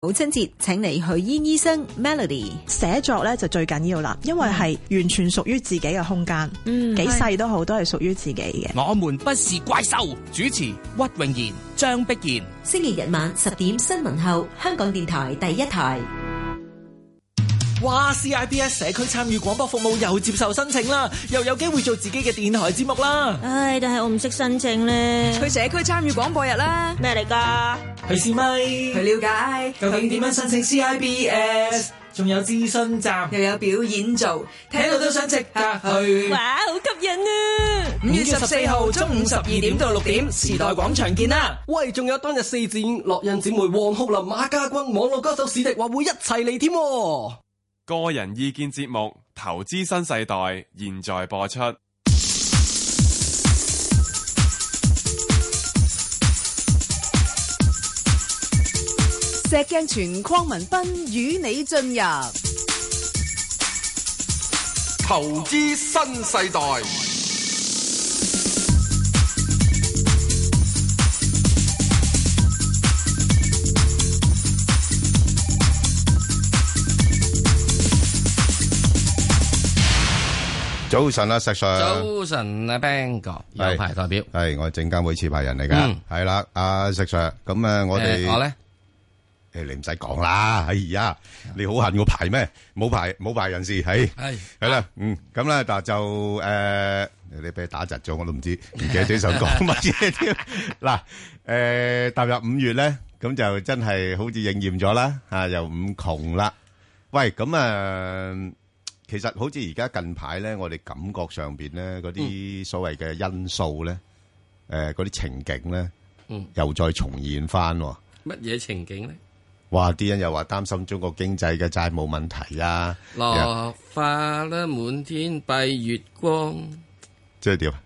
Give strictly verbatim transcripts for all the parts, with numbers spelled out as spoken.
母親節請嚟許燕醫生 Melody。 寫作咧就最緊要啦，因為係完全屬於自己嘅空間， 嗯， 幾細都好，都係屬於自己嘅。 我們不是怪獸，主持屈穎妍、張碧賢。 星期日晚十點新聞後，香港電台第一台。 哇 ！C I B S 社區參與廣播服務又接受申請啦，又有機會做自己嘅電台節目啦。 唉，但係我唔識申請咧。 去社區參與廣播日啦。 咩嚟㗎？ 去試咪， 去了解究竟點樣申請 C I B S， 仲有諮詢站， 又有表演做，聽到都想即刻去。 哇，好吸引啊！ 五月十四號中午十二點到六點，時代廣場見啦。 喂，仲有當日四展樂印姊妹黃浩林、馬家軍、網絡歌手史迪話會一齊嚟添。 個人意見節目《投資新世代》現在播出。 石鏡泉鄺民彬與你進入《 投資新世代》。 早晨啊，石 Sir。 早晨啊 ，Bang 哥，有牌代表係我係證監會持牌人嚟噶，係啦，阿石 Sir。咁誒，我哋我咧， 誒，你唔使講啦，哎呀，你好恨我牌咩？冇牌冇牌人士，係係係啦，嗯，咁咧，但就誒，你俾打窒咗，我都唔知，唔記得咗想講乜嘢添。嗱，誒，踏入五月咧，咁就真係好似應驗咗啦，吓又五窮啦。喂，咁啊。其實好似而家近排咧，我哋感覺上邊咧嗰啲所謂嘅因素咧，誒嗰啲情景咧， 嗯， 又再重現翻。乜嘢情景咧？ 哇！啲人又話擔心中國經濟嘅債務問題啊， 落花啦，滿天蔽月光， 即係點啊？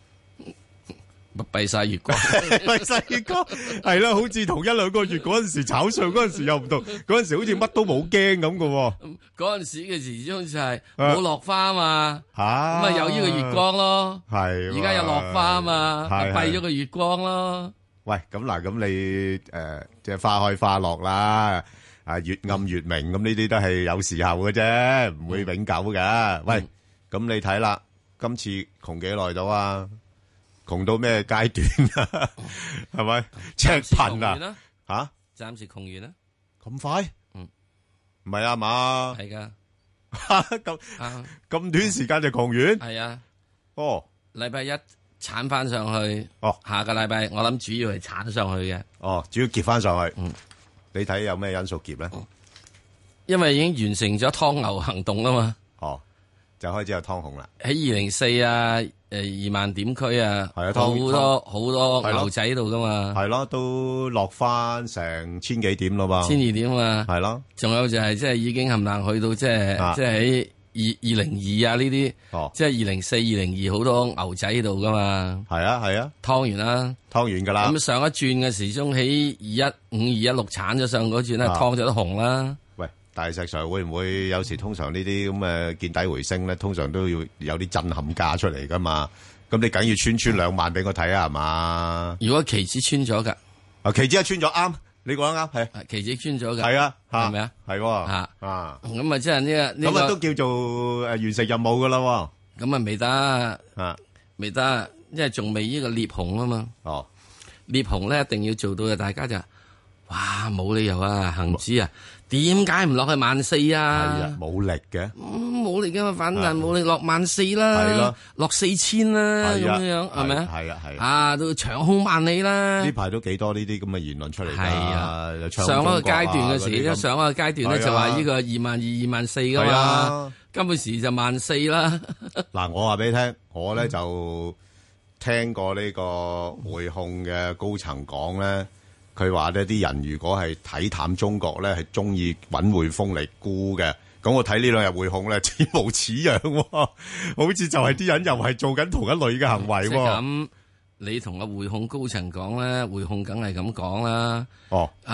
閉晒月光， 閉晒月光，係啦，好似同一兩個月嗰陣時炒上嗰陣時又唔同，嗰陣時好似乜都冇驚咁嘅。 嗰陣時嘅時鐘就係冇落花啊嘛，咁啊有呢個月光咯， 係而家有落花啊嘛，閉咗個月光咯。 喂，咁嗱，咁你誒即係花開花落啦，啊月暗月明，咁呢啲都係有時候嘅啫，唔會永久嘅。喂，咁你睇啦，今次窮幾耐到啊？窮到咩階段啊？係咪赤貧啊？吓， 暫時窮完啦， 咁快？嗯，唔係啊嘛？ 係噶， 咁咁短時間就窮完？ 係啊。 哦， 禮拜一鏟翻上去。 哦， 下個禮拜我諗主要係鏟上去嘅。 哦，主要結翻上去。 嗯， 你睇有咩因素結咧？ 因為已經完成咗湯牛行動啦嘛。 哦，就開始有湯紅啦。 喺二零四啊。誒，二萬點區啊， 係啊， 好多好多牛仔喺度噶嘛， 係咯，都落翻成千幾點咯嘛， 千二點啊， 係咯， 仲有就係即係已經冚唪唥去到即係即係喺二二零二啊呢啲，即係二零四、二零二好多牛仔喺度噶嘛， 係啊係啊， 湯完啦， 湯完噶啦， 咁上一轉嘅時鐘喺二一五、二一六鏟咗上嗰轉咧，湯咗都紅啦。 大石上會唔會有時通常呢啲咁嘅見底回升咧，通常都要有啲震撼價出嚟噶嘛？咁你梗要穿穿兩萬俾我睇啊，係嘛？ 如果期指穿咗噶， 啊期指一穿咗啱，你講得啱係， 期指穿咗噶， 係啊， 係咪啊？ 係啊啊， 咁啊即係呢個咁啊都叫做誒完成任務噶啦， 咁啊未得啊，未得，因為仲未呢個裂紅啊嘛。 哦， 裂紅咧一定要做到嘅，大家就哇冇理由啊，恒指啊。點解唔落去萬四啊？ 係啊，冇力嘅， 冇力噶嘛，反彈冇力落萬四啦， 係咯， 落四千啦，咁樣樣係咪啊？ 係啊係啊，都長空萬里啦。 呢排都幾多呢啲咁嘅言論出嚟。 係啊，上一個階段嘅時，上一個階段咧就話呢個二萬二、二萬四噶嘛，今個時就萬四啦。 嗱，我話俾你聽，我咧就聽過呢個匯控嘅高層講咧。佢話呢啲人如果係睇淡中國咧，係中意揾匯豐嚟沽嘅。咁我睇呢兩日匯控咧，似模似樣，好似就係啲人又係做緊同一類嘅行為。 即係咁，你同個匯控高層講咧，匯控梗係咁講啦。 哦， 啊，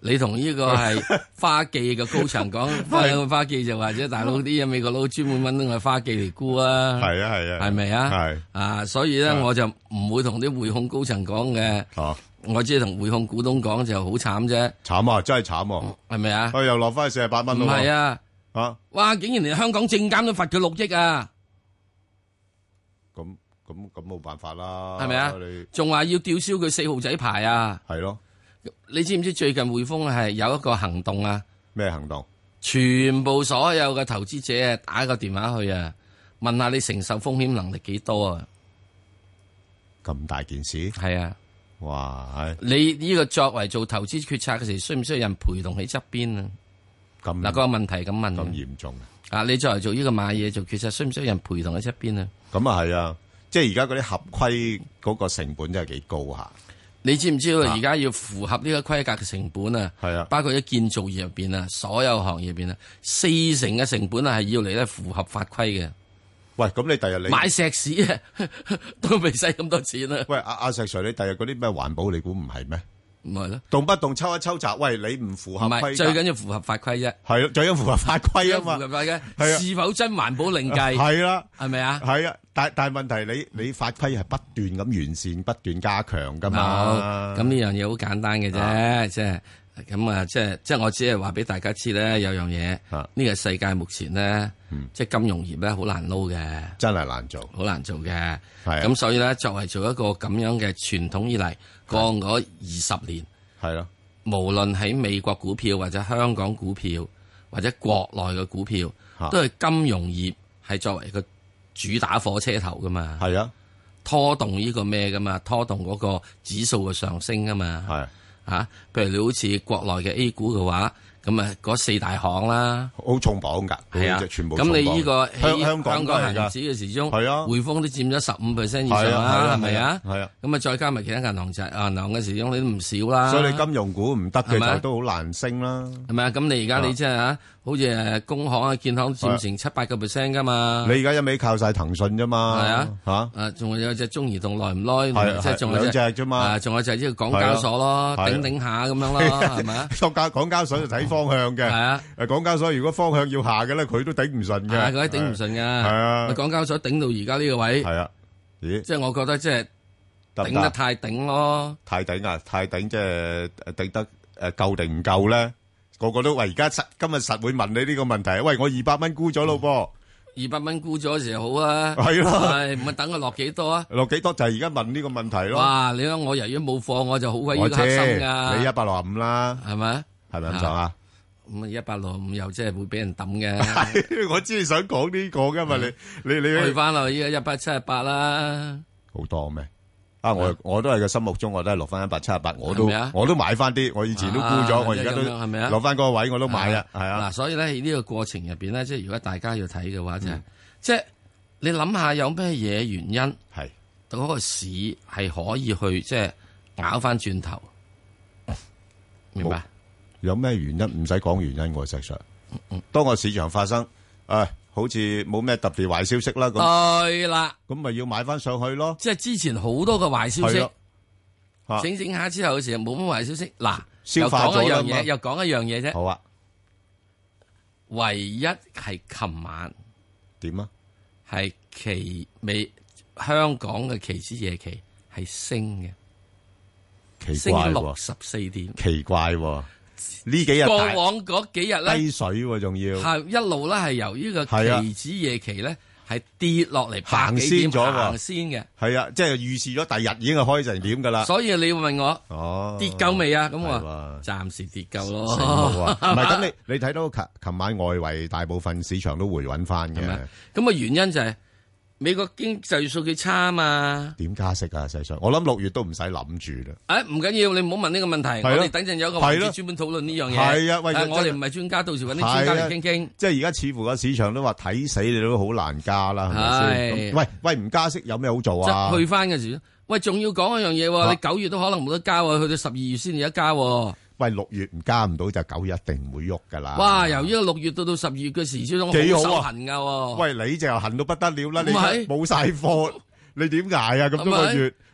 你同呢個係花記嘅高層講，花花記就或者大佬啲嘢美國佬專門揾我花記嚟沽啊， 係啊係啊， 係咪啊？ 係啊，所以咧我就唔會同啲匯控高層講嘅， 哦， 我只係同匯控股東講就好慘啫， 慘啊，真係慘啊， 係咪啊？ 佢又落翻去四十八蚊咯， 唔係啊， 啊， 哇！竟然連香港證監都罰佢六億啊！ 咁咁咁冇辦法啦， 係咪啊？仲話要吊銷佢四號仔牌啊？ 係咯。 你知唔知最近匯豐係有一個行動啊？ 咩行動？ 全部所有嘅投資者啊，打個電話去啊，問下你承受風險能力幾多啊？ 咁大件事？ 係啊！ 哇！ 你呢個作為做投資決策嘅時，需唔需要人陪同喺側邊啊？ 咁嗱，個問題咁問。 咁嚴重啊！啊，你作為做呢個買嘢做決策，需唔需要人陪同喺側邊啊？ 咁啊係啊！即係而家嗰啲合規嗰個成本真係幾高下。 你知唔知道而家要符合呢個規格嘅成本啊？ 係啊， 包括喺建造業入邊啊，所有行業入邊啊，四成嘅成本啊係要嚟咧符合法規嘅。 喂，咁你第日你買石屎啊，都未使咁多錢啊！ 喂，阿阿石 Sir，你第日嗰啲咩環保，你估唔係咩？ 唔係咯， 動不動抽一抽閘，喂，你唔符合規格， 唔係最緊要符合法規啫。 係咯，最緊要符合法規啊嘛。 符合法規， 係啊， 是否真環保另計？ 係啦， 係咪啊？ 係啊，但但係問題你你法規係不斷咁完善、不斷加強噶嘛。 咁呢樣嘢好簡單嘅啫，即係咁啊，即係即係我只係話俾大家知咧，有樣嘢，呢個世界目前咧，即係金融業咧好難撈嘅， 真係難做， 好難做嘅。 係咁所以咧，作為做一個咁樣嘅傳統以嚟，過嗰二十年。 係咯， 無論喺美國股票或者香港股票或者國內嘅股票，都係金融業係作為個主打火車頭噶嘛。 係啊， 拖動呢個咩噶嘛？拖動嗰個指數嘅上升啊嘛。 係啊，譬如你好似國內嘅 A 股嘅話，咁啊嗰四大行啦， 好重磅噶， 係啊， 全部咁你呢個香香港香港恒指嘅時鐘， 係啊， 匯豐都佔咗十五 percent 以上啦，係咪啊？ 係啊， 咁啊再加埋其他銀行就銀行嘅時鐘，你都唔少啦。 所以你金融股唔得嘅就都好難升啦， 係咪啊？咁你而家你即係嚇，好似誒工行啊、建行佔成七八個 percent 噶嘛？ 你而家一味靠晒騰訊啫嘛？ 係啊， 嚇啊仲有隻中移動耐唔耐？ 係即係仲有兩隻啫嘛？ 仲有就係呢個港交所咯，頂頂下咁樣咯，係咪啊？ 港交港交所就睇方向嘅，係啊。 誒港交所如果方向要下嘅咧，佢都頂唔順嘅， 係佢頂唔順嘅。係啊， 港交所頂到而家呢個位， 係啊，咦？ 即係我覺得即係頂得太頂咯， 太頂啊！太頂即係頂得誒夠定唔夠咧？個個都話而家實今日實會問你呢個問題。喂，我二百蚊沽咗咯噃， 二百蚊沽咗嘅時候好啊， 係咯， 係唔係等佢落幾多啊？ 落幾多就係而家問呢個問題咯。 哇！你睇我由於冇貨，我就好鬼要黑心噶。 你一百六十五啦， 係咪？ 係咪咁講啊？ 咁啊，一百六十五又即係會俾人抌嘅。 我知你想講呢個噶嘛？你你你去翻落依家一百七十八啦， 好多咩？啊！我我都係個心目中，我都係落翻一百七十八，我都我都買翻啲。我以前都沽咗，我而家都係咪啊？ 落翻嗰個位，我都買啊，係啊。 嗱，所以咧喺呢個過程入邊咧，即係如果大家要睇嘅話，就係即係你諗下有咩嘢原因係嗰個市係可以去即係咬翻轉頭，明白？ 有咩原因？唔使講原因，我實上，當個市場發生，誒。好似冇咩特別壞消息啦，咁對啦， 咁咪要買翻上去咯。 即係之前好多個壞消息， 啊、 整整下之後嘅時候冇乜壞消息。嗱， 消化咗啦嘛。 又講一樣嘢，又講一樣嘢啫。 好啊， 唯一係琴晚點啊？ 係期美香港嘅期指夜期係升嘅， 奇怪喎， 升六十四點， 奇怪喎。呢幾日過往嗰幾日咧低水喎，仲要係一路咧係由呢個期指夜期咧係跌落嚟行先咗喎， 行先嘅係啊，即係預示咗第日已經係開成點噶啦。 所以你要問我哦跌夠未啊？咁我暫時跌夠咯。 唔係咁，你你睇到琴琴晚外圍大部分市場都回穩翻嘅。 咁啊原因就係美國經濟數據差啊嘛， 點加息啊？實際上，我諗六月都唔使諗住啦。 誒，唔緊要，你唔好問呢個問題，我哋等陣有一個環節專門討論呢樣嘢。 係啊，喂， 我哋唔係專家，到時揾啲專家嚟傾傾。 即係而家似乎個市場都話睇死你都好難加啦，係咪先？喂喂，唔加息有咩好做啊？ 去翻嘅時，喂，仲要講一樣嘢，你九月都可能冇得加，去到十二月先至有得加。 喂，六月唔加唔到就九月一定唔會喐噶啦。 哇！由呢個六月到到十二月嘅時，始終好手痕噶。 喂，你就痕到不得了啦！你冇晒貨，你點捱啊？咁多個月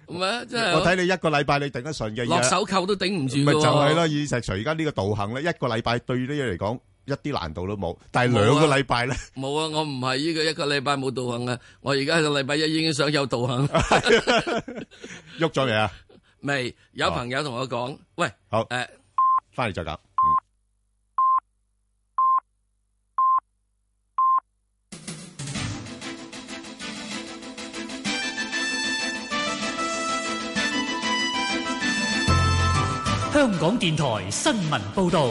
唔係，即係我睇你一個禮拜你頂得順嘅， 落手扣都頂唔住。 咪就係咯，以石 Sir 而家呢個道行咧，一個禮拜對呢嘢嚟講一啲難度都冇，但係兩個禮拜咧， 冇啊！我唔係呢個一個禮拜冇道行啊！我而家個禮拜一已經想有道行， 喐咗未啊？ 未有朋友同我講，喂， 好誒， 翻嚟再講。 香港電台新聞報道。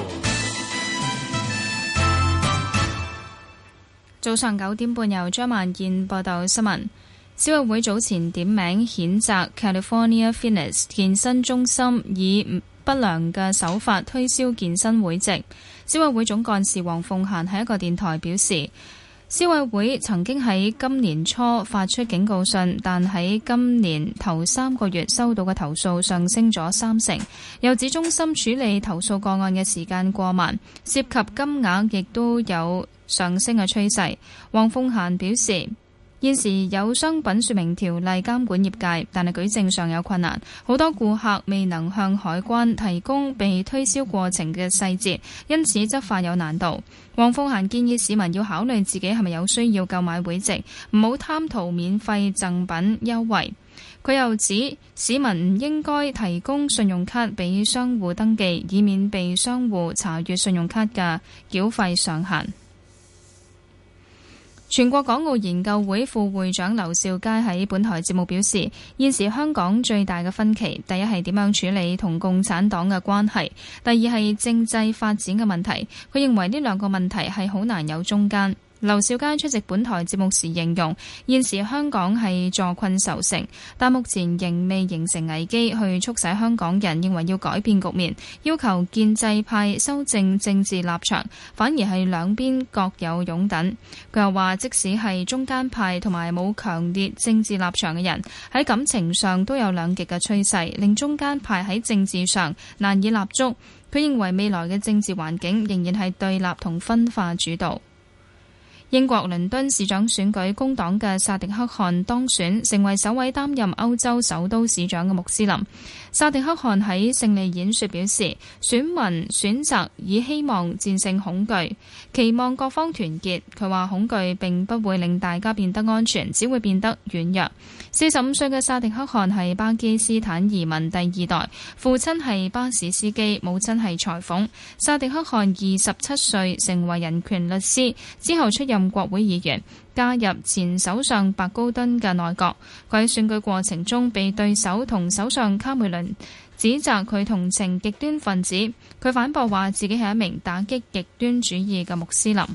早上九點半，由張萬燕報道新聞。消委會早前點名譴責 California Fitness 健身中心以不良嘅手法推銷健身會籍。消委會總幹事黃鳳嫻喺一個電台表示，消委會曾經喺今年初發出警告信，但喺今年頭三個月收到嘅投訴上升咗三成。又指中心處理投訴個案嘅時間過慢，涉及金額亦都有上升嘅趨勢。黃鳳嫻表示，現時有商品說明條例監管業界，但係舉證上有困難，好多顧客未能向海關提供被推銷過程嘅細節，因此執法有難度。黃鳳嫻建議市民要考慮自己係咪有需要購買會籍，唔好貪圖免費贈品優惠。佢又指市民唔應該提供信用卡俾商戶登記，以免被商戶查閱信用卡嘅繳費上限。全國港澳研究會副會長劉兆佳喺本台節目表示，現時香港最大嘅分歧，第一係點樣處理同共產黨嘅關係，第二係政制發展嘅問題。佢認為呢兩個問題係好難有中間。劉兆佳出席本台節目時形容，現時香港係坐困愁城，但目前仍未形成危機去促使香港人認為要改變局面，要求建制派修正政治立場，反而係兩邊各有擁躉。佢又話，即使係中間派同埋冇強烈政治立場嘅人，喺感情上都有兩極嘅趨勢，令中間派喺政治上難以立足。佢認為未來嘅政治環境仍然係對立同分化主導。英國倫敦市長選舉，工黨嘅薩迪克汗當選，成為首位擔任歐洲首都市長嘅穆斯林。薩迪克汗喺勝利演說表示，選民選擇以希望戰勝恐懼，期望各方團結。佢話恐懼並不會令大家變得安全，只會變得軟弱。四十五歲嘅薩迪克汗係巴基斯坦移民第二代，父親係巴士司機，母親係裁縫。薩迪克汗二十七歲成為人權律師，之後出任國會議員，加入前首相白高敦嘅內閣。佢喺選舉過程中被對手同首相卡梅倫指責佢同情極端分子，佢反駁話自己係一名打擊極端主義嘅穆斯林。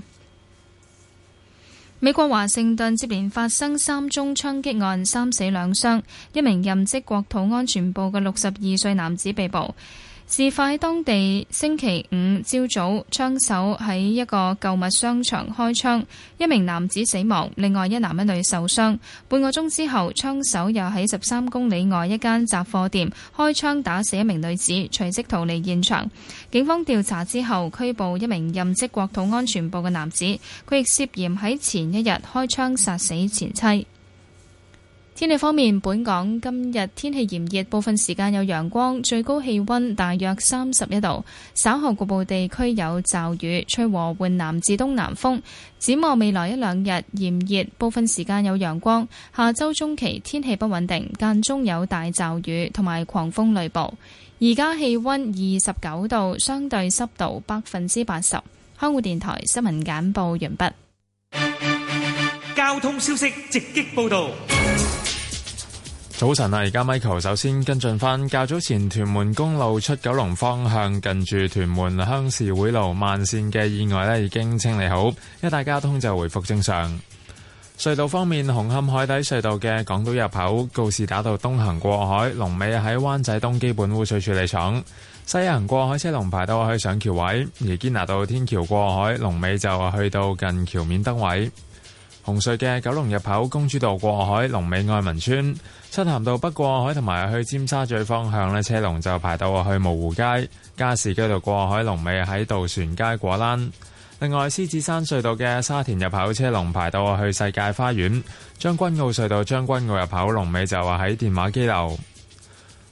美國華盛頓接連發生三宗槍擊案，三死兩傷，一名任職國土安全部嘅六十二歲男子被捕。事發喺當地星期五朝早，槍手喺一個購物商場開槍，一名男子死亡，另外一男一女受傷。半個鐘之後，槍手又喺十三公里外一間雜貨店開槍打死一名女子，隨即逃離現場。警方調查之後拘捕一名任職國土安全部嘅男子，佢亦涉嫌喺前一日開槍殺死前妻。天氣方面，本港今日天氣炎熱，部分時間有陽光，最高氣溫大約三十一度。稍後局部地區有驟雨，吹和緩南至東南風。展望未來一兩日炎熱，部分時間有陽光。下周中期天氣不穩定，間中有大驟雨同埋狂風雷暴。而家氣溫二十九度，相對濕度百分之八十。香港電台新聞簡報完畢。 交通消息直擊報道。 早晨啊，而家 Michael 首先跟進返較早前屯門公路出九龍方向近住屯門鄉事會路慢線嘅意外咧已經清理好，一帶交通就回復正常。隧道方面，紅磡海底隧道嘅港島入口告士打道東行過海，龍尾喺灣仔東基本污水處理廠；西行過海車龍排到去上橋位，而堅拿道天橋過海龍尾就去到近橋面燈位。紅隧嘅九龍入口公主道過海龍尾愛民村，漆咸道北過海同埋去尖沙咀方向呢車龍就排到去蕪湖街，加士居道過海龍尾喺渡船街果欄。另外，獅子山隧道嘅沙田入口車龍排到去世界花園，將軍澳隧道將軍澳入口龍尾就話喺電話機樓。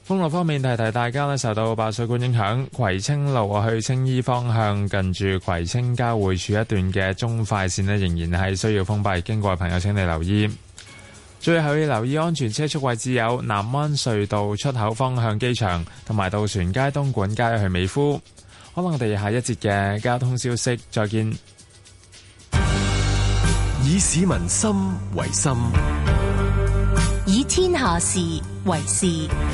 封路方面，提提大家咧，受到爆水管影響，葵青路去青衣方向近住葵青交匯處一段嘅中快線咧，仍然係需要封閉，經過嘅朋友請你留意。最後要留意安全車速位置有南灣隧道出口方向機場，同埋渡船街東莞街去美孚。可能我哋下一節嘅交通消息再見。 以市民心為心， 以天下事為事。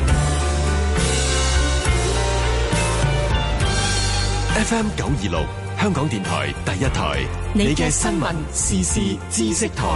F M 九二六香港電台第一台，你嘅新聞時事知識台。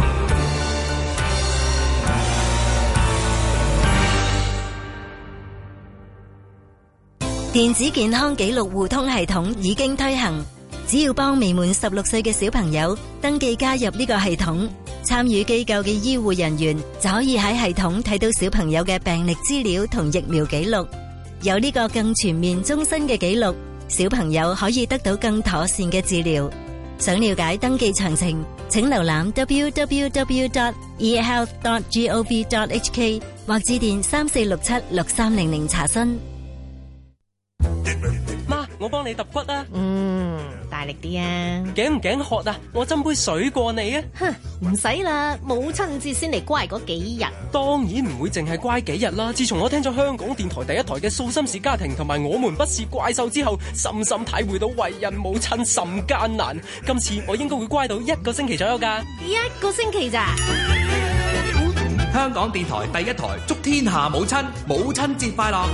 電子健康記錄互通系統已經推行，只要幫未滿十六歲嘅小朋友登記加入呢個系統，參與機構嘅醫護人員就可以喺系統睇到小朋友嘅病歷資料同疫苗記錄，有呢個更全面終身嘅記錄，小朋友可以得到更妥善嘅治療。想了解登記詳情，請瀏覽 double-u double-u double-u dot e health dot gov dot h k 或致電三四六七六三零零查詢。 媽，我幫你揼骨啊！ 嗯，大力啲啊！ 頸唔頸渴啊？我斟杯水過你啊！ 哼，唔使啦，母親節先嚟乖嗰幾日。 當然唔會淨係乖幾日啦！自從我聽咗香港電台第一台嘅素心事家庭同埋我們不是怪獸之後，深深體會到為人母親甚艱難。今次我應該會乖到一個星期左右㗎。 一個星期咋？ 香港電台第一台祝天下母親母親節快樂！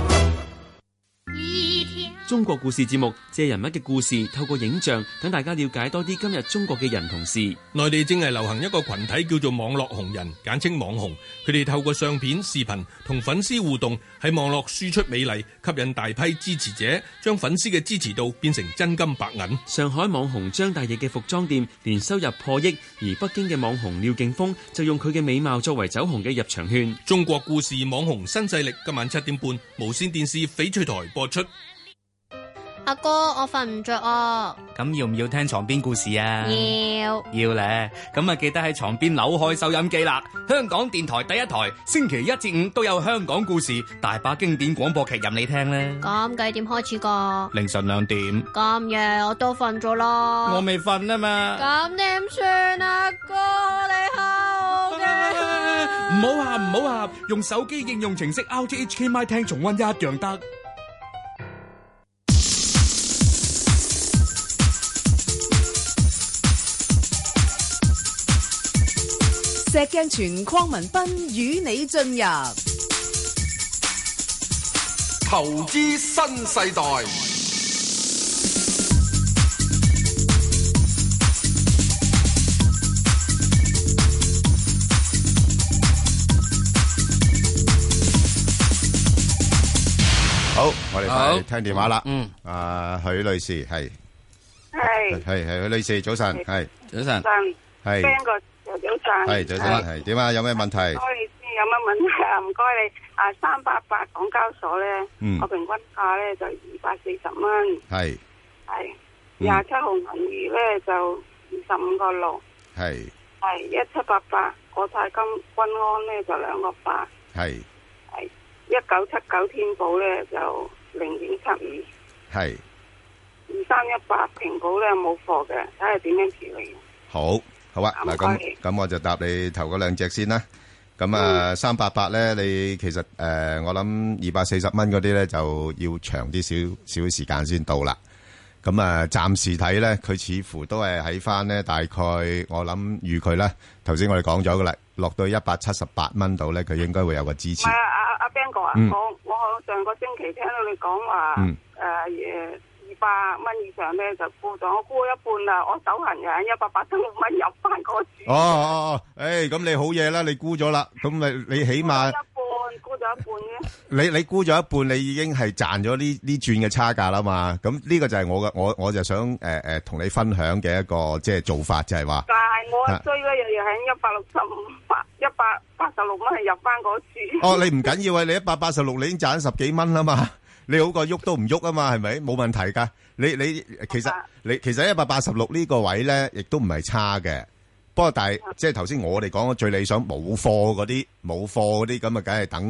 中國故事節目借人物嘅故事，透過影像等大家了解多啲今日中國嘅人同事。 內地正係流行一個群體叫做網絡紅人，簡稱網紅。佢哋透過相片、視頻同粉絲互動，喺網絡輸出美麗，吸引大批支持者，將粉絲嘅支持度變成真金白銀。 上海網紅張大奕嘅服裝店年收入破億，而北京嘅網紅廖勁峰就用佢嘅美貌作為走紅嘅入場券。 中國故事網紅新勢力今晚七點半無線電視翡翠台播出。 阿哥，我瞓唔着啊！ 咁要唔要聽床邊故事啊？ 要要咧，咁啊記得喺床邊扭開收音機啦！香港電台第一台，星期一至五都有香港故事，大把經典廣播劇任你聽咧。 咁幾點開始噶？ 凌晨兩點。 咁夜我都瞓咗啦。 我未瞓啊嘛。 咁點算啊？哥，你好嘅。 唔好喊，唔好喊，用手機應用程式 R T H K M Y 聽重溫一樣得。 石鏡泉鄺民彬與你進入投資新世代。 好，我哋快聽電話啦。嗯，啊，許女士係係係係許女士，早晨係早晨係。 早晨， 係早晨，係點啊？有咩問題？ 唔該你先，有乜問題啊？唔該你啊，三八八港交所咧，我平均價咧就二百四十蚊， 係係廿七號銀娛咧就二十五個六， 係係一七八八國泰金均安咧就兩個八， 係係一九七九天寶咧就零點七五， 係二三一八平保咧冇貨嘅，睇下點樣處理。 好。好啊，嗱咁咁我就答你頭嗰兩隻先啦。咁啊，三八八咧，你其實誒，我諗二百四十蚊嗰啲咧就要長啲少少時間先到啦。咁啊，暫時睇咧，佢似乎都係喺翻咧，大概我諗預佢咧，頭先我哋講咗噶啦，落到一百七十八蚊度咧，佢應該會有個支持。 唔係啊，阿阿 Ben 哥啊，我我上個星期聽到你講話誒誒。百蚊以上咧就沽咗，我沽一半啦，我手痕嘅一百八十六蚊入翻嗰注。 哦哦哦，誒，咁你好嘢啦，你沽咗啦，咁咪你起碼一半沽咗一半啫。 你你沽咗一半，你已經係賺咗呢呢轉嘅差價啦嘛。咁呢個就係我嘅，我我就想誒誒同你分享嘅一個即係做法，就係話。但係我追咧，又要喺一百六十五八一百八十六蚊係入翻嗰注。 哦，你唔緊要啊，你一百八十六你已經賺十幾蚊啦嘛。你好過喐都唔喐啊嘛，係咪？冇問題噶。你你其實你其實一百八十六呢個位咧，亦都唔係差嘅。不過但係即係頭先我哋講嘅最理想冇貨嗰啲冇貨嗰啲咁啊，梗係等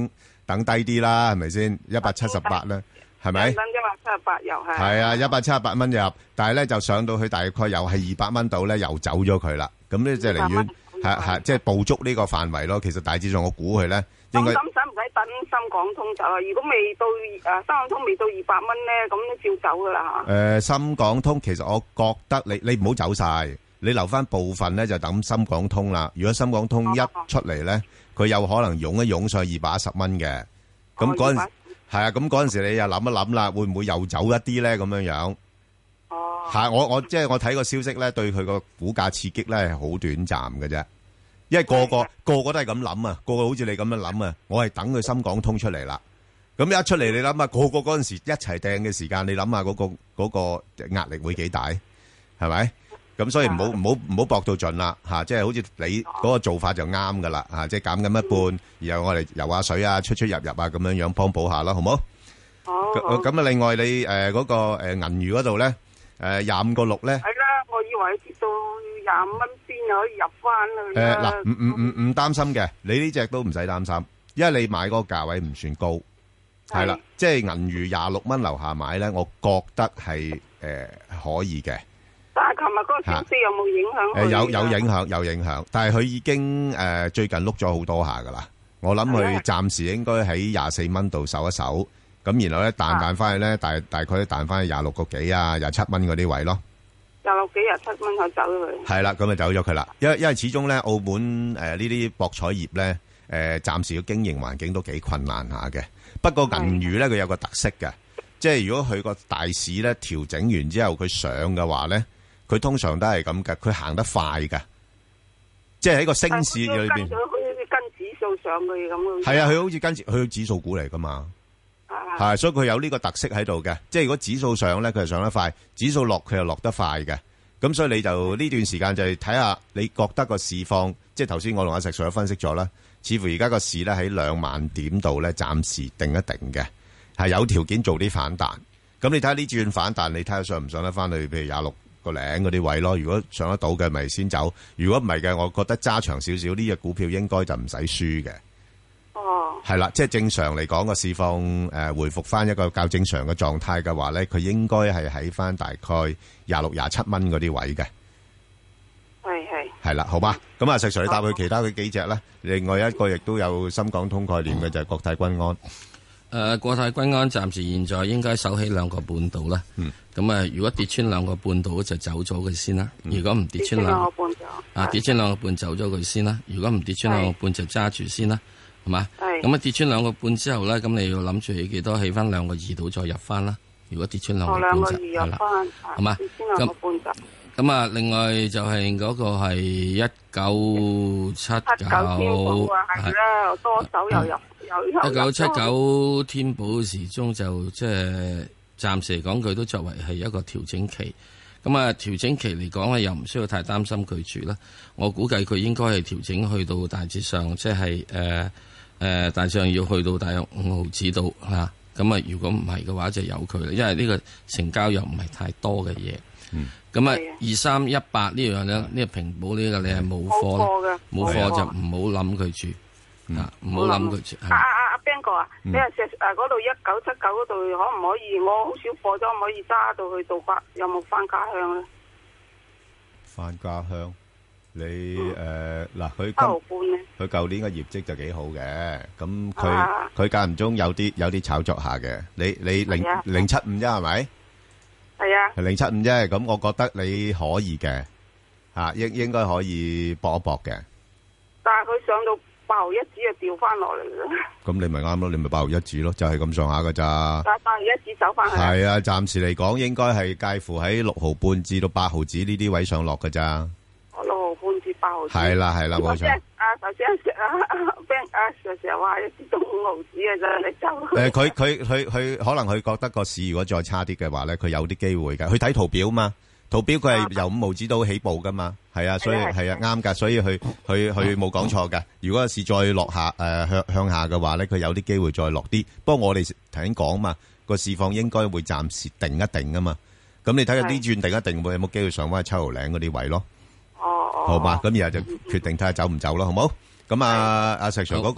等低啲啦，係咪先？一百七十八咧，係咪？ 等一百七十八又係。 係啊，一百七十八蚊入，但係咧就上到去大概又係二百蚊度咧，又走咗佢啦。咁咧就寧願係係即係捕捉呢個範圍咯。其實大致上我估佢咧應該。咁使唔使等深港通走啊？如果未到誒深港通未到二百蚊咧，咁照走噶啦嚇。誒深港通其實我覺得你你唔好走晒，你留翻部分咧就等深港通啦。如果深港通一出嚟咧，佢有可能湧一湧上二百一十蚊嘅。咁嗰陣係啊，咁嗰陣時你又諗一諗啦，會唔會又走一啲咧？咁樣樣。哦。係我我即係我睇個消息咧，對佢個股價刺激咧係好短暫嘅啫。因為個個個個都係咁諗啊，個個好似你咁樣諗啊，我係等佢深港通出嚟啦。咁一出嚟，你諗下，個個嗰陣時一齊掟嘅時間，你諗下嗰個嗰個壓力會幾大，係咪？咁所以唔好唔好唔好搏到盡啦，吓，即係好似你嗰個做法就啱噶啦，吓，即係減緊一半，然後我哋游下水啊，出出入入啊，咁樣樣幫補下啦，好唔好？好。咁啊，另外你誒嗰個誒銀娛嗰度咧，誒廿五個六咧。係啦，我以為跌到廿五蚊邊就可以入翻去啦。誒嗱，唔唔唔唔擔心嘅，你呢隻都唔使擔心，因為你買嗰個價位唔算高，係啦，即係銀娛廿六蚊樓下買咧，我覺得係誒可以嘅。但係琴日嗰個消息有冇影響？誒有有影響有影響，但係佢已經誒最近碌咗好多下噶啦。我諗佢暫時應該喺廿四蚊度守一守，咁然後咧彈彈翻去咧，大大概彈翻去廿六個幾啊，廿七蚊嗰啲位咯。廿六幾廿七蚊就走咗佢。係啦，咁就走咗佢啦。因為因為始終咧，澳門誒呢啲博彩業咧，誒暫時嘅經營環境都幾困難下嘅。不過銀娛咧，佢有個特色嘅，即係如果佢個大市咧調整完之後，佢上嘅話咧。佢通常都係咁嘅，佢行得快嘅，即係喺個升市裏邊。佢好似跟指數上去咁咯。係啊，佢好似跟佢指數股嚟噶嘛，係，所以佢有呢個特色喺度嘅。即係如果指數上咧，佢係上得快；指數落，佢又落得快嘅。咁所以你就呢段時間就係睇下，你覺得個市況，即係頭先我同阿石 Sir 分析咗啦，似乎而家個市咧喺兩萬點度咧，暫時定一定嘅，係有條件做啲反彈。咁你睇下呢轉反彈，你睇下上唔上得翻去？譬如廿六個零嗰啲位咯，如果上得到嘅咪先走，如果唔係嘅，我覺得揸長少少呢隻股票應該就唔使輸嘅。哦，係啦，即係正常嚟講個市況誒、呃、回復翻一個較正常嘅狀態嘅話咧，佢應該係喺翻大概廿六廿七蚊嗰啲位嘅。係係係啦，好吧，咁啊石 Sir 你答佢其他佢幾隻咧？另外一個亦都有深港通概念嘅、嗯、就係國泰君安。 誒、呃，國泰君安暫時現在應該守起兩個半度啦。嗯。咁啊，如果跌穿兩個半度就走咗佢先啦。嗯、如果唔跌穿兩個半就啊，跌穿兩個半走咗佢先啦。如果唔跌穿兩個半就揸住先啦，係嘛？係。咁啊，跌穿兩個半之後咧，咁你要諗住起幾多？起翻兩個二度再入翻啦。如果跌穿兩個半就係啦，係嘛？跌穿兩個半就。咁啊，另外就係嗰個係一九七九，係啦，多手又入。一九七九天寶時鐘就即係暫時嚟講，佢都作為係一個調整期。咁啊，調整期嚟講咧，又唔需要太擔心佢住啦。我估計佢應該係調整去到大致上，即係誒誒，大致上要去到大約五毫子度嚇。咁啊，如果唔係嘅話，就由佢啦。因為呢個成交又唔係太多嘅嘢。咁啊、嗯，二三一八呢樣咧，呢、這個平保呢個你係冇貨，冇貨就唔好諗佢住。啊，唔好諗佢。阿阿阿 Ben 哥啊，你話石誒嗰度一九七九嗰度可唔可以？我好少貨咗，可唔可以揸到去到翻？有冇翻家鄉咧？翻家鄉，你誒嗱，佢今佢舊年嘅業績就幾好嘅，咁佢佢間唔中有啲有啲炒作下嘅。你你零零七五啫係咪？係啊，係零七五啫。咁我覺得你可以嘅，吓應應該可以搏一搏嘅。但係佢上到八毫一指就掉翻落嚟啦。咁你咪啱咯，你咪八毫一指咯，就係咁上下噶咋。但係八毫一指走翻去。係啊，暫時嚟講應該係介乎喺六毫半至到八毫子呢啲位上落噶咋。六毫半至八毫子。係啦係啦，冇錯。啊頭先啊啊 Ben 啊成日話一支到五毫子嘅啫，你走。誒，佢佢佢佢可能佢覺得個市如果再差啲嘅話咧，佢有啲機會嘅。佢睇圖表嘛。圖表佢係由五毫子到起步噶嘛，係啊，所以係啊啱噶，所以佢佢佢冇講錯噶。如果市再落下誒向向下嘅話咧，佢有啲機會再落啲。不過我哋頭先講嘛，個市況應該會暫時定一定啊嘛。咁你睇下呢轉定一定會有冇機會上翻去七毫零嗰啲位咯？哦哦，好嘛，咁然後就決定睇下走唔走咯，好冇？咁啊阿石 Sir 嗰個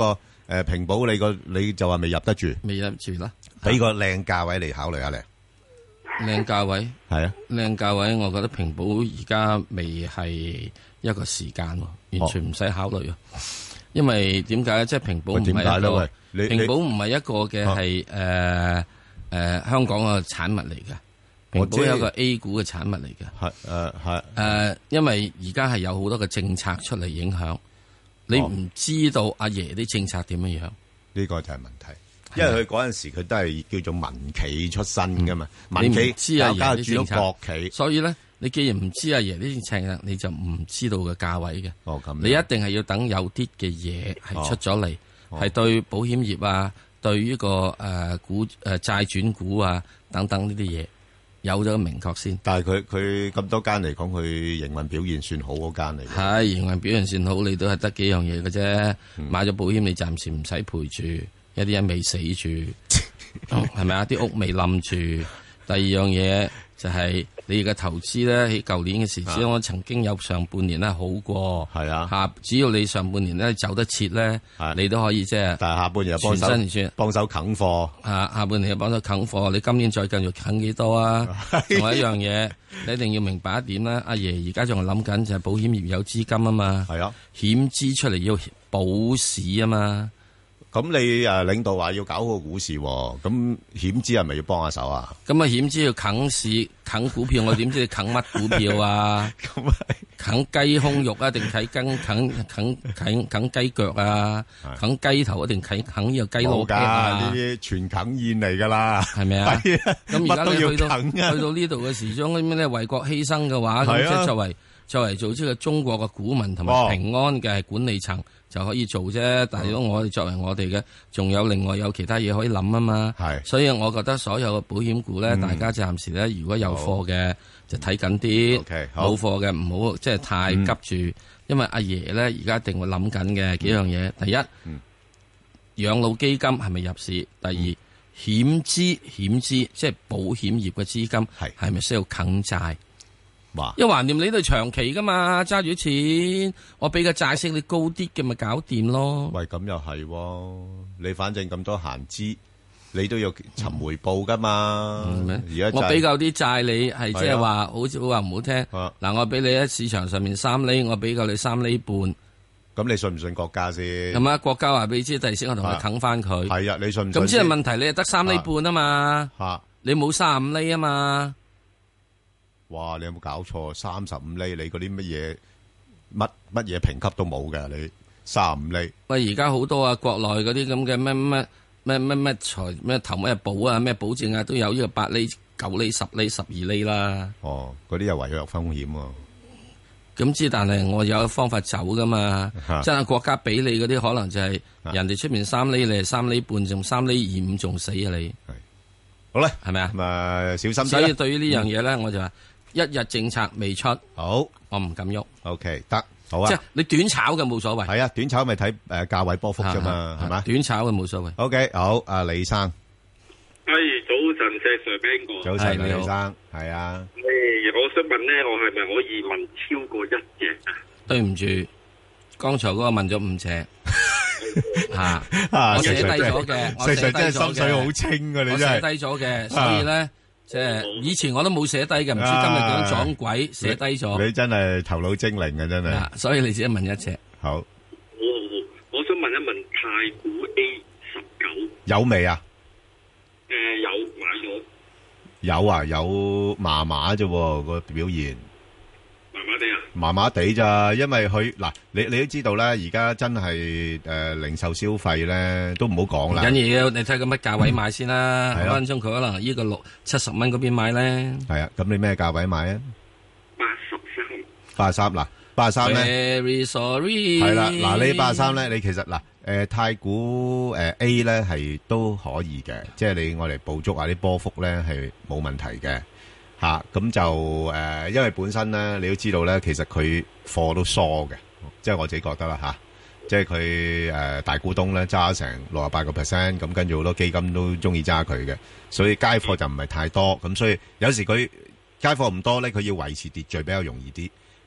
誒平保你個你就話未入得住， 未入住啦， 俾個靚價位嚟考慮下咧。 靚價位係啊， 靚價位，我覺得平保而家未係一個時間，完全唔使考慮啊。哦、因為點解咧？即係平保唔係一個，平保唔係一個嘅係誒誒香港嘅產物嚟嘅。平保有一個 A 股嘅產物嚟嘅。 係誒係誒，因為而家係有好多嘅政策出嚟影響，你唔知道阿爺啲政策點樣樣， 呢個就係問題。因為佢嗰陣時佢都係叫做民企出身噶嘛，民企知阿爺啲政策， 國企， 所以咧，你既然唔知阿爺啲政策，你就唔知道個價位嘅。 哦，咁你一定係要等有啲嘅嘢係出咗嚟，係、哦、對保險業啊，對於、這個誒、呃、股誒、呃、債轉股啊等等呢啲嘢有咗明確先。 但係佢佢咁多間嚟講，佢營運表現算好嗰間嚟。 係營運表現算好，你都係得幾樣嘢嘅啫。嗯、買咗保險，你暫時唔使賠住。一啲人未死住，係咪啊？啲屋未冧住。第二樣嘢就係你嘅投資咧，喺舊年嘅時，只我曾經有上半年咧好過。係啊，下只要你上半年咧走得切咧，你都可以即係。但係下半年又幫手幫手啃貨。啊，下半年又幫手啃貨，你今年再繼續啃幾多啊？仲有一樣嘢，你一定要明白一點啦。阿爺而家仲係諗緊就係保險業有資金啊嘛。係啊，險資出嚟要保市啊嘛。 咁你誒領導話要搞好股市，咁險資係咪要幫下手啊？ 咁啊險資要啃市啃股票，我點知你啃乜股票啊？咁係啃雞胸肉啊，定啃啃啃啃啃啃雞腳啊？啃雞頭一定啃啃呢個雞腦啊？ 呢啲全啃宴嚟噶啦， 係咪啊？咁而家你去到啃啊去到呢度嘅時鐘，咁咧為國犧牲嘅話，咁即係作為作為做呢個中國嘅股民同埋平安嘅管理層。就可以做啫，但係如果我哋作為我哋嘅，仲有另外有其他嘢可以諗啊嘛。係，所以我覺得所有嘅保險股咧，嗯、大家暫時咧，如果有貨嘅就睇緊啲，冇貨嘅唔好即係太急住，嗯、因為阿爺咧而家一定會諗緊嘅幾樣嘢。第一，嗯、養老基金係咪入市？第二，嗯、險資險資即係保險業嘅資金係係咪需要啃債？因為橫掂你都係長期噶嘛，揸住錢，我俾個債息你高啲嘅咪搞掂咯。 喂，咁又係，你反正咁多閒資，你都要尋回報噶嘛。而家、嗯、 我俾夠啲債你，係即係話，好似話唔好聽。嗱、啊，我俾你喺市場上面三厘，我俾夠你三厘半。 咁你信唔信國家先？ 咁啊，國家話俾你知，第時我同佢啃翻佢。 係啊，你信唔信？ 咁先係問題，你係得三厘半啊嘛。吓、啊，你冇三十五厘啊嘛。 哇！你有冇搞錯？三十五厘，你嗰啲乜嘢乜乜嘢評級都冇嘅，你三十五厘。 喂，而家好多啊，國內嗰啲咁嘅咩咩咩咩咩財咩投咩保啊，咩保證啊，都有呢個八厘、九厘、十厘、十二厘啦。 哦，嗰啲又違約風險喎。 咁知，但係我有方法走噶嘛。真係國家俾你嗰啲，可能就係人哋出面三厘，你係三厘半，仲三厘二五，仲死啊你。 好啦， 係咪啊？ 咁啊，小心啲。 所以對於呢樣嘢咧，我就話。一日政策未出， 好， 我唔敢喐。 O K， 得，好啊。 即係你短炒嘅冇所謂。 係啊，短炒咪睇誒價位波幅啫嘛，係嘛？ 短炒嘅冇所謂。 O K，好，阿李生。 係早晨，石 Sir邊個？ 早晨，李生，係啊。 誒，我想問咧，我係咪可以問超過一隻啊？ 對唔住，剛才嗰個問咗五隻。吓，我寫低咗嘅，我寫低咗嘅。石 Sir 真係心水好清㗎，你真係。我寫低咗嘅，所以咧。即係以前我都冇寫低嘅，唔知今日點樣撞鬼寫低咗。 你真係頭腦精靈嘅真係。 所以你自己問一隻。 好。 好，我想問一問太古 A 十九有未啊？ 誒，有買咗。 有啊，有麻麻啫個表現。 麻麻地啊？ 麻麻地咋？因為佢嗱，你你都知道咧，而家真係誒零售消費咧都唔好講啦。 緊要，你睇佢乜價位買先啦。分分鐘佢可能呢個六七十蚊嗰邊買咧。 係啊，咁你咩價位買啊？ 八十三。 八十三嗱，八十三咧。 Very sorry。 係啦，嗱呢八十三咧，你其實嗱誒太古誒 A 咧係都可以嘅，即係你我嚟捕捉下啲波幅咧係冇問題嘅。吓咁、啊、就誒、呃，因為本身咧，你都知道咧，其實佢貨都疏嘅，即係我自己覺得啦吓、啊，即係佢誒大股東咧揸成六十八個 percent，咁跟住好多基金都中意揸佢嘅，所以街貨就唔係太多，咁所以有時佢街貨唔多咧，佢要維持秩序比較容易啲，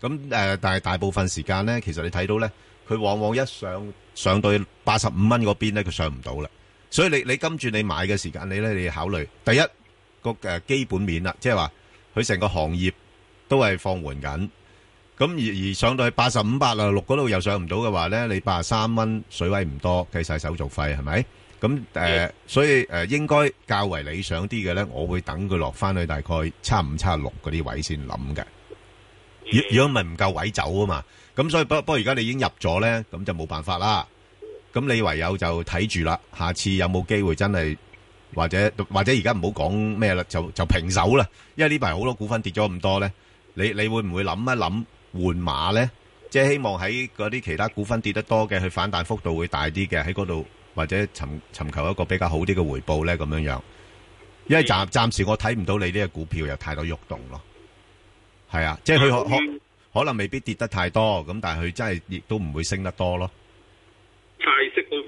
咁誒、呃，但係大部分時間咧，其實你睇到咧，佢往往一上上到八十五蚊嗰邊咧，佢上唔到啦。所以你你跟住你買嘅時間，你咧你要考慮第一個誒基本面啦，即係話佢成個行業都係放緩緊。咁而而上到去八十五、八十六嗰度又上唔到嘅話咧，你八十三蚊水位唔多，計晒手續費係咪？咁誒、呃，所以誒、呃、應該較為理想啲嘅咧，我會等佢落翻去大概七五、七六嗰啲位先諗嘅。如如果咪唔夠位走啊嘛，咁所以不不過而家你已經入咗咧，咁就冇辦法啦。咁你唯有就睇住啦，下次有冇機會真係或者或者而家唔好講咩啦，就就平手啦。因為呢排好多股份跌咗咁多咧，你你會唔會諗一諗換馬咧？即係希望喺嗰啲其他股份跌得多嘅，去反彈幅度會大啲嘅，喺嗰度或者尋尋求一個比較好啲嘅回報咧，咁樣樣。因為暫暫時我睇唔到你呢個股票有太多喐動咯。係啊，即係佢可可可能未必跌得太多，咁但係佢真係亦都唔會升得多咯。 派息都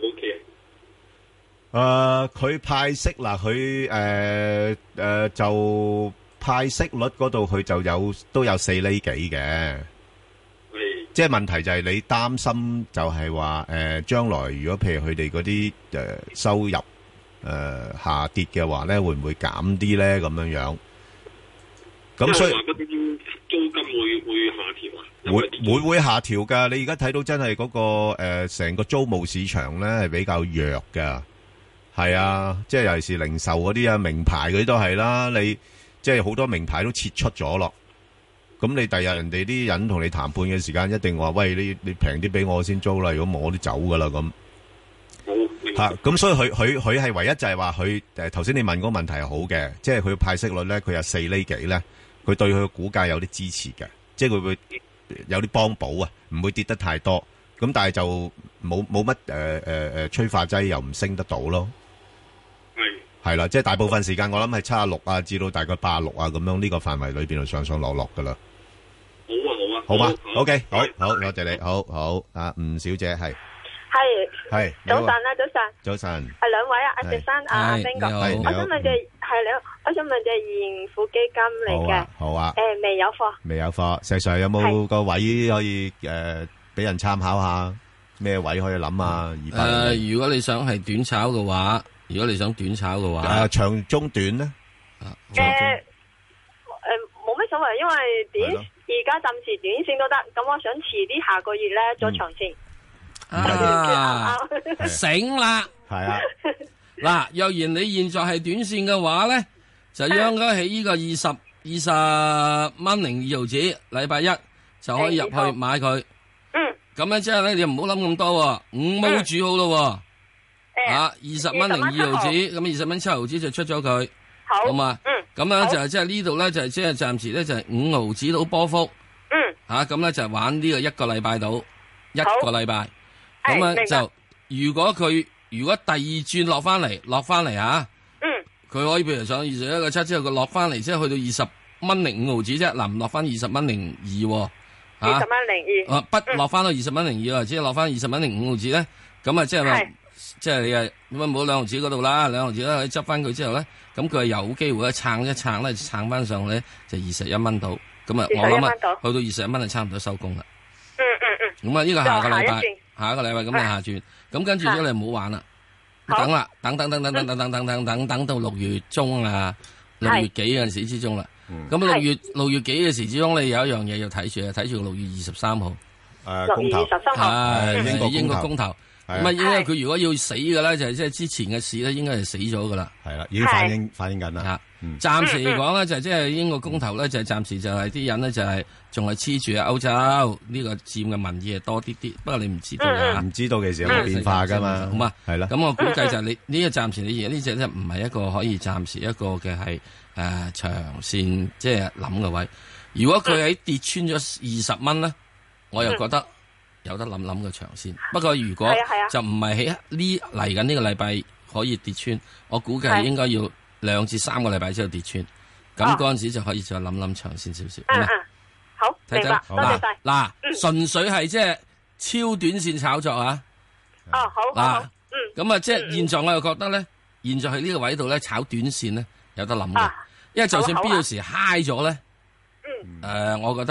OK 誒，佢派息嗱，佢誒誒就派息率嗰度佢就有都有四厘幾嘅。即係問題就係你擔心就係話誒將來如果譬如佢哋嗰啲誒收入誒、呃、下跌嘅話咧，會唔會減啲咧咁樣樣？咁所以嗰啲租金會會下調啊？ 會會會下調㗎。你而家睇到真係嗰、嗰個誒成、呃、個租務市場咧係比較弱㗎。係啊，即係尤其是零售嗰啲啊，名牌嗰啲都係啦。你即係好多名牌都撤出咗咯。咁你第日人哋啲人同你談判嘅時間，一定話喂，你你平啲俾我先租啦，如果冇我都走噶啦咁。好吓，咁所以佢佢佢係唯一就係話佢誒頭先你問嗰個問題係好嘅，即係佢派息率咧，佢有四厘幾咧，佢對佢嘅股價有啲支持嘅，即係佢會有啲幫補啊，唔會跌得太多。咁但係就冇冇乜誒誒誒催化劑又唔升得到咯。係係啦，即係大部分時間我諗係七十六啊，至到大概八十六啊咁樣呢個範圍裏邊就上上落落噶啦。 好啊好啊， 好嘛 ，OK，好好，多謝你，好好，阿吳小姐係係係早晨啊，早晨， 早晨， 係兩位啊，阿石生，阿 Ben 哥，我想問隻係你，我想問隻盈富基金嚟嘅， 好啊， 誒未有貨， 未有貨，石 Sir 有冇個位可以誒俾人參考下？咩位可以諗啊？ 誒，如果你想係短炒嘅話。如果你想短炒嘅話， 誒長中短咧？ 誒誒冇乜所謂，因為短而家暫時短線都得。咁我想遲啲下個月咧做長線。 啊，醒啦！ 係啊， 嗱，若然你現在係短線嘅話咧，就應該喺呢個二十二十蚊零二毫子，禮拜一就可以入去買佢。 嗯。咁樣之後咧，你唔好諗咁多，五毛煮好咯。啊，二十蚊零二毫子，咁二十蚊七毫子就出咗佢，好嘛？嗯，咁樣就係即係呢度咧，就係即係暫時咧就係五毫子到波幅， 嗯， 吓咁咧就玩呢個一個禮拜到一個禮拜，咁樣就如果佢如果第二轉落翻嚟落翻嚟吓，嗯，佢可以譬如上二十一個七之後佢落翻嚟，即係去到二十蚊零五毫子啫，嗱唔落翻二十蚊零二， 二十蚊零二， 啊不落翻到二十蚊零二，即係落翻二十蚊零五毫子咧，咁啊即係話。即係你啊，咁啊冇兩毫子嗰度啦，兩毫子咧可以執翻佢之後咧，咁佢係有機會咧撐一撐咧，撐翻上咧就二十一蚊到，咁啊我諗啊去到二十一蚊就差唔多收工啦。 嗯嗯嗯。 咁啊呢個下個禮拜，下一個禮拜咁你下轉，咁跟住咗你唔好玩啦，等啦，等等等等等等等等等等等到六月中啊，六月幾嗰陣時之中啦。咁六月六月幾嘅時之中，你有一樣嘢要睇住啊，睇住六月二十三號。 誒，公投係英國英國公投。咁啊，因為佢如果要死嘅咧，就係即係之前嘅事咧，應該係死咗噶啦。 係啦，已經反映反映緊啦。 暫時嚟講咧，就即係英國公投咧，就係暫時就係啲人咧，就係仲係黐住歐洲呢個佔嘅民意係多啲啲。不過你唔知道㗎， 唔知道其實有冇變化噶嘛？ 好嘛， 係啦。 咁我估計就係你呢個暫時你而家呢隻咧，唔係一個可以暫時一個嘅係誒長線即係諗嘅位。如果佢喺跌穿咗二十蚊咧，我又覺得。有得諗諗嘅長線，不過如果就唔係喺呢嚟緊呢個禮拜可以跌穿，我估計應該要兩至三個禮拜之後跌穿，咁嗰陣時就可以再諗諗長線少少。 嗯嗯，好，明白，多謝晒。 嗱，純粹係即係超短線炒作啊。 哦，好，嗱，嗯， 咁啊，即係現在我又覺得咧，現在喺呢個位度咧炒短線咧有得諗嘅，因為就算必要時 high 咗咧，誒，我覺得。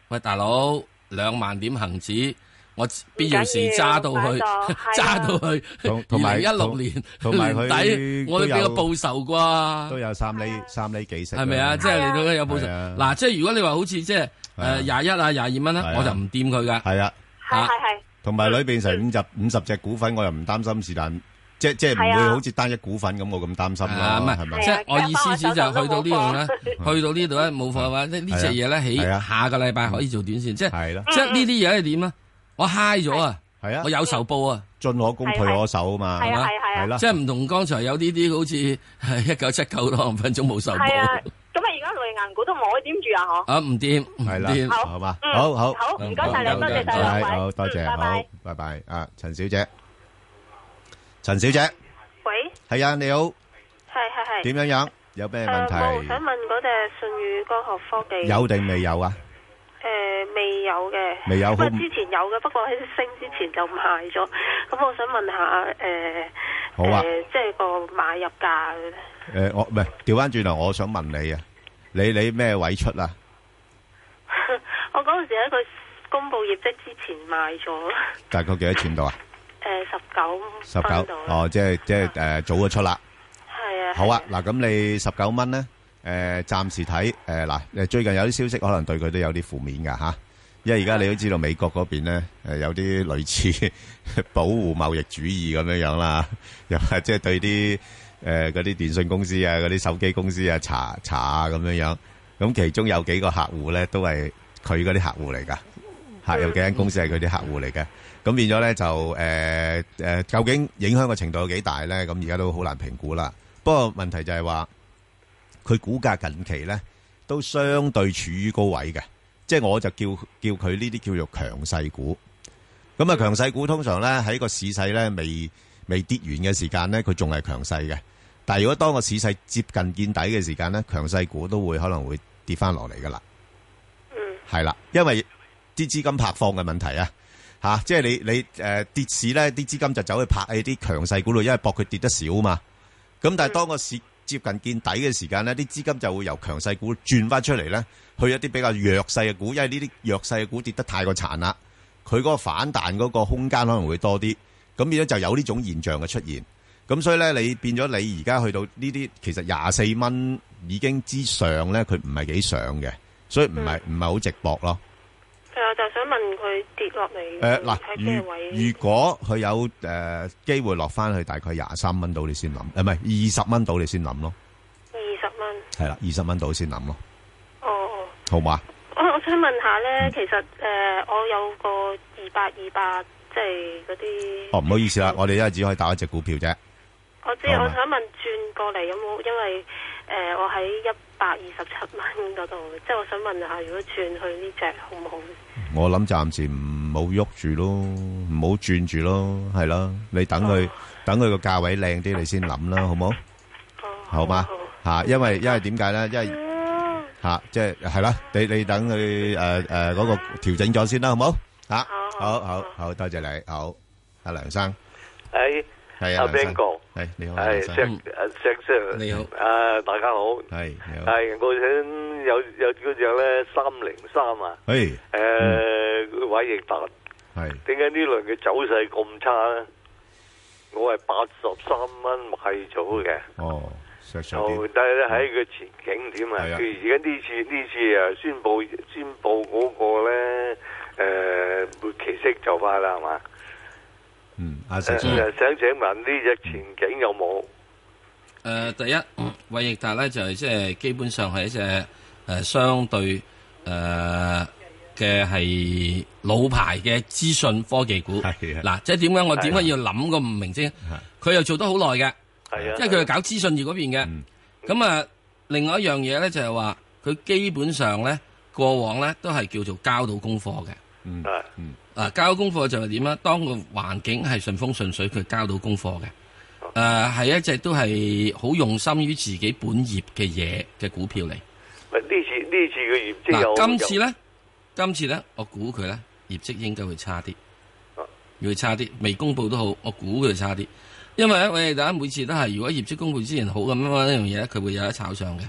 喂，大佬，兩萬點恒指，我必要時揸到去，揸到去二零一六年同埋佢底，我都俾個報酬啩， 都有三厘三厘幾息， 係咪啊？即係你都有報酬。嗱，即係如果你話好似即係誒廿一啊廿二蚊咧，我就唔掂佢噶。 係啊， 係係係。 同埋裏邊成五十五十隻股份，我又唔擔心是但。即即係唔會好似單一股份咁，我咁擔心啦，係咪？ 即係我意思就去到呢度咧，去到呢度咧冇貨嘅話，呢呢隻嘢咧起下個禮拜可以做短線，即係即係呢啲嘢係點啊？我 high 咗啊，係啊，我有仇報啊， 進可攻退可守啊嘛，係嘛？係啦， 即係唔同剛才有啲啲好似係一九七九多五分鐘冇仇報。 係啊，咁啊而家內銀股都唔可以點住啊？嗬？ 啊唔掂， 係啦，好嘛，好好好，唔該晒你，多謝晒兩位，好多謝，好，拜拜，啊陳小姐。陳小姐， 喂， 係啊，你好， 係係係， 點樣樣？有咩問題？ 我想問嗰隻舜宇光學科技有定未有啊？ 誒，未有嘅， 未有， 不過之前有嘅，不過喺升之前就賣咗。咁我想問下，誒， 好啊， 即係個買入價。 誒，我唔係調翻轉頭，我想問你啊，你你咩位出啊？ 我嗰陣時喺佢公布業績之前買咗。 大概幾多錢度啊？ 誒，十九十九哦，即係即係誒，早咗出啦。 係啊。 好啊，嗱，咁你十九蚊咧，誒，暫時睇誒，嗱，誒，最近有啲消息可能對佢都有啲負面噶吓，因為而家你都知道美國嗰邊咧，誒，有啲類似保護貿易主義咁樣樣啦，又係即係對啲誒嗰啲電信公司啊、嗰啲手機公司啊查查啊咁樣樣，咁其中有幾個客戶咧都係佢嗰啲客戶嚟噶，吓，有幾間公司係佢啲客戶嚟嘅。咁變咗咧就誒誒、呃呃，究竟影響嘅程度有幾大咧？咁而家都好難評估啦。不過問題就係話，佢股價近期咧都相對處於高位嘅，即係我就叫叫佢呢啲叫做強勢股。咁啊，強勢股通常咧喺個市勢咧未未跌完嘅時間咧，佢仲係強勢嘅。但係如果當個市勢接近見底嘅時間咧，強勢股都會可能會跌翻落嚟噶啦。嗯，係啦，因為啲資金拍放嘅問題啊。吓、啊，即係你你誒、呃、跌市咧，啲資金就走去拍喺啲強勢股度，因為搏佢跌得少嘛。咁但係當個市接近見底嘅時間咧，啲資金就會由強勢股轉翻出嚟咧，去一啲比較弱勢嘅股，因為呢啲弱勢嘅股跌得太過殘啦，佢嗰個反彈嗰個空間可能會多啲。咁變咗就有呢種現象嘅出現。咁所以咧，你變咗你而家去到呢啲，其實廿四蚊已經之上咧，佢唔係幾上嘅，所以唔係唔係好直搏咯。 我就想問佢跌落嚟誒嗱，如如果佢有誒機會落翻去大概廿三蚊到，你先諗，誒唔係二十蚊到，你先諗咯。 二十蚊係啦，二十蚊到先諗咯。 哦哦， 好嘛？ 我我想問下咧，其實誒我有個二百二百，即係嗰啲。哦，唔好意思啦，我哋一係只可以打一隻股票啫。我知，我想問轉過嚟有冇？因為誒我喺一百二十七蚊嗰度，即係我想問下，如果轉去呢隻好唔好？我諗暫時唔好喐住咯，唔好轉住咯，係咯，你等佢、哦、等佢個價位靚啲，你先諗啦，好冇？哦，好嘛吓，因為因為點解咧？因為吓，即係係啦，你你等佢誒誒嗰個調整咗先啦，好冇？吓，好好好，多謝你，好，阿梁生，誒，係啊，阿 Ben 哥，係你好，係石誒石 Sir，你好，誒大家好，係你好，係我想。有有嗰隻咧三零三啊，誒誒偉易達，係點解呢輪嘅走勢咁差咧？我係八十三蚊買咗嘅，哦，就但係咧喺個前景點啊？佢而家呢次呢次啊宣布宣布嗰個咧誒末期息就快啦，係嘛？嗯，阿石生想請問呢隻前景有冇？誒，第一偉易達咧就係即係基本上係一隻。誒，相對誒嘅係老牌嘅資訊科技股，嗱，即係點解我點解要諗個唔明啫？佢又做得好耐嘅，係啊，因為佢係搞資訊業嗰邊嘅。咁啊，另外一樣嘢咧就係話，佢基本上咧過往咧都係叫做交到功課嘅。嗯，嗯，啊，交功課就係點啊？當個環境係順風順水，佢交到功課嘅。誒，係一隻都係好用心於自己本業嘅嘢嘅股票嚟。呢次呢次嘅業績有嗱，今次咧，今次咧，我估佢咧業績應該會差啲，會差啲，未公布都好，我估佢差啲，因為咧，我哋大家每次都係如果業績公布之前好咁樣呢樣嘢咧，佢會有得炒上嘅。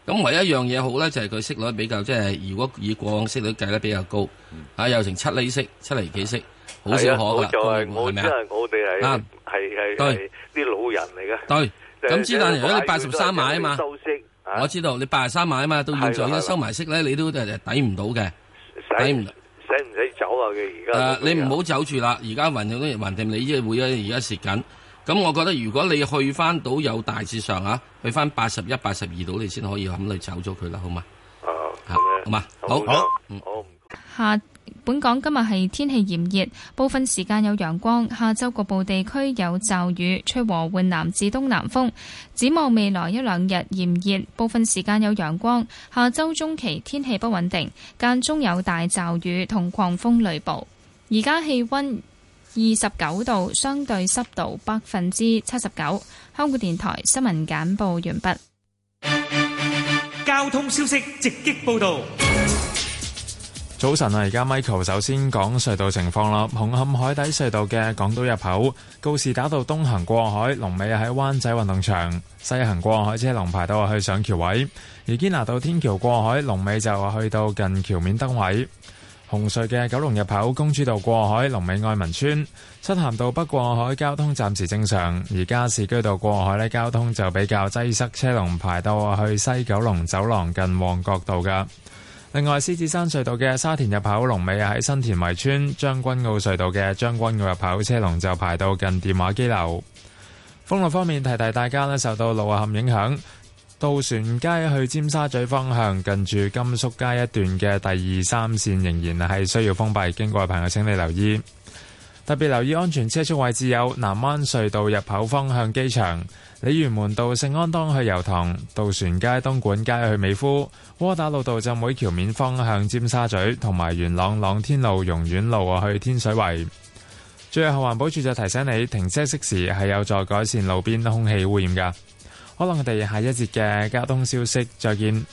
咁唯一一樣嘢好咧，就係佢息率比較即係，如果以過往息率計得比較高，啊有成七厘息、七厘幾息，好少可噶啦。 就係我係咪因為我哋係啊係係係啲老人嚟嘅。 對，咁之但如果你八十三買啊嘛，我知道你八十三買啊嘛，到現在一收埋息咧，你都誒抵唔到嘅，抵唔使唔使走啊？佢而家誒，你唔好走住啦，而家橫掂都橫掂，你即係會啊，而家蝕緊。咁我覺得如果你去翻到有大致上啊，去翻八十一、八十二度，你先可以咁嚟走咗佢啦，好嘛？ 啊， 好嘛，好， 好， 嗯， 好。 下本港今日係天氣炎熱，部分時間有陽光，下晝局部地區有驟雨，吹和緩南至東南風。展望未來一兩日炎熱，部分時間有陽光，下週中期天氣不穩定，間中有大驟雨同狂風雷暴。而家氣溫二十九度，相對濕度百分之七十九。香港電台新聞簡報完畢。 交通消息直擊報道。 早晨啊，而家 Michael 首先講隧道情況啦。紅磡海底隧道嘅港島入口，告士打道東行過海，龍尾喺灣仔運動場；西行過海車龍排到去上橋位。而堅拿道天橋過海，龍尾就去到近橋面燈位。紅隧嘅九龍入口，公主道過海，龍尾愛民村；漆咸道北過海交通暫時正常，而加士居道過海呢，交通就比較擠塞，車龍排到去西九龍走廊近旺角道噶。另外，獅子山隧道嘅沙田入口，龍尾喺新田圍村；將軍澳隧道嘅將軍澳入口，車龍就排到近電話機樓。封路方面，提提大家呢，受到路陷影響，渡船街去尖沙咀方向近住甘肅街一段嘅第二三線仍然係需要封閉，經過嘅朋友請你留意。特別留意安全車速位置有南灣隧道入口方向機場、鯉魚門道聖安當去油塘、渡船街東莞街去美孚、窩打老道浸會橋面方向尖沙咀，同埋元朗朗天路榕苑路去天水圍。最後環保署就提醒你，停車熄匙係有助改善路邊空氣污染噶。可能我哋下一節嘅交通消息再見。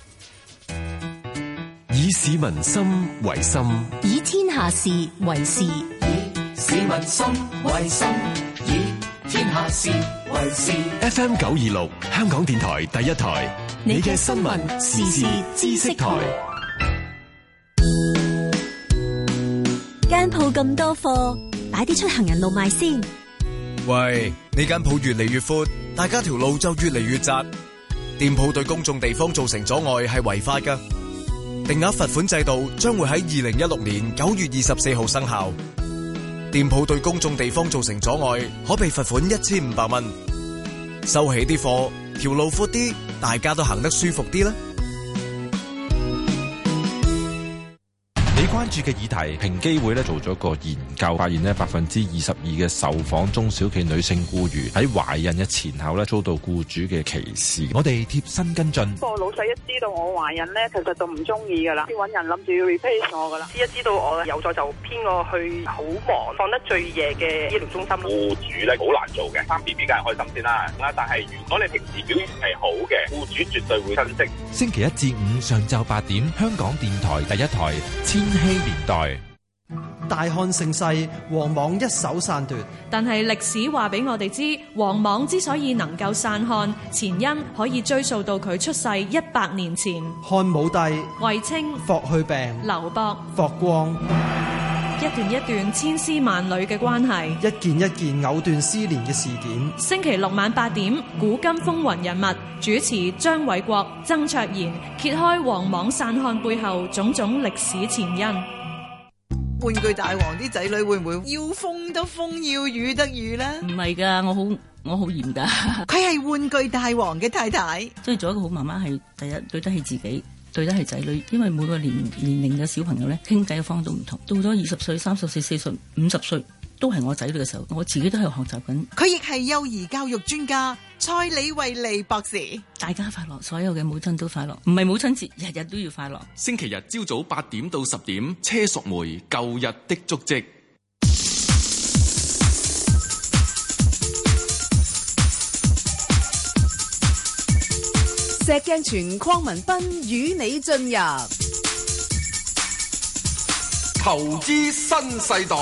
以市民心為心， 以天下事為事。 以市民心為心，以天下事為事。 F M 九二六，香港電台第一台，你嘅新聞時事知識台。 間鋪咁多貨，擺啲出行人路賣先。 喂，呢間鋪越嚟越闊，大家條路就越嚟越窄。店鋪對公眾地方造成阻礙係違法㗎。定額罰款制度將會喺二零一六年九月二十四號生效。店鋪對公眾地方造成阻礙，可被罰款一千五百蚊。收起啲貨，條路闊啲，大家都行得舒服啲啦。 你關注嘅議題，平機會咧做咗個研究，發現咧百分之二十二嘅受訪中小企女性僱員喺懷孕嘅前後咧遭到僱主嘅歧視。我哋貼身跟進。 個老細一知道我懷孕咧，其實就唔中意噶啦，先揾人諗住要 replace 我噶啦。一知道我有咗就編我去好忙、放得最夜嘅醫療中心。 僱主咧好難做嘅，生 B B 梗係開心先啦。但係如果你平時表現係好嘅，僱主絕對會珍惜。 星期一至五上晝八點，香港電台第一台千禧年代。 大漢盛世，黃莽一手篡奪。 但係歷史話俾我哋知，黃莽之所以能夠散漢，前因可以追溯到佢出世一百年前。 漢武帝、 衛青、 霍去病、 劉伯、 霍光， 一段一段千絲萬縷嘅關係， 一件一件藕斷絲連嘅事件。 星期六晚八點，古今風雲人物，主持張偉國、曾卓賢，揭開黃莽散漢背後種種歷史前因。 玩具大王啲仔女會唔會要風得風，要雨得雨咧？ 唔係噶，我好我好嚴噶。 佢係玩具大王嘅太太， 所以做一個好媽媽係第一對得起自己，對得起仔女。因為每個年年齡嘅小朋友咧，傾偈嘅方法都唔同。到咗二十歲、三十歲、四十、五十歲，都係我仔女嘅時候，我自己都喺度學習緊。 佢亦係幼兒教育專家蔡李慧利博士。 大家快樂，所有嘅母親都快樂。唔係母親節，日日都要快樂。 星期日朝早八點到十點，車淑梅舊日的足跡。 石鏡泉鄺民彬與你進入投資新世代。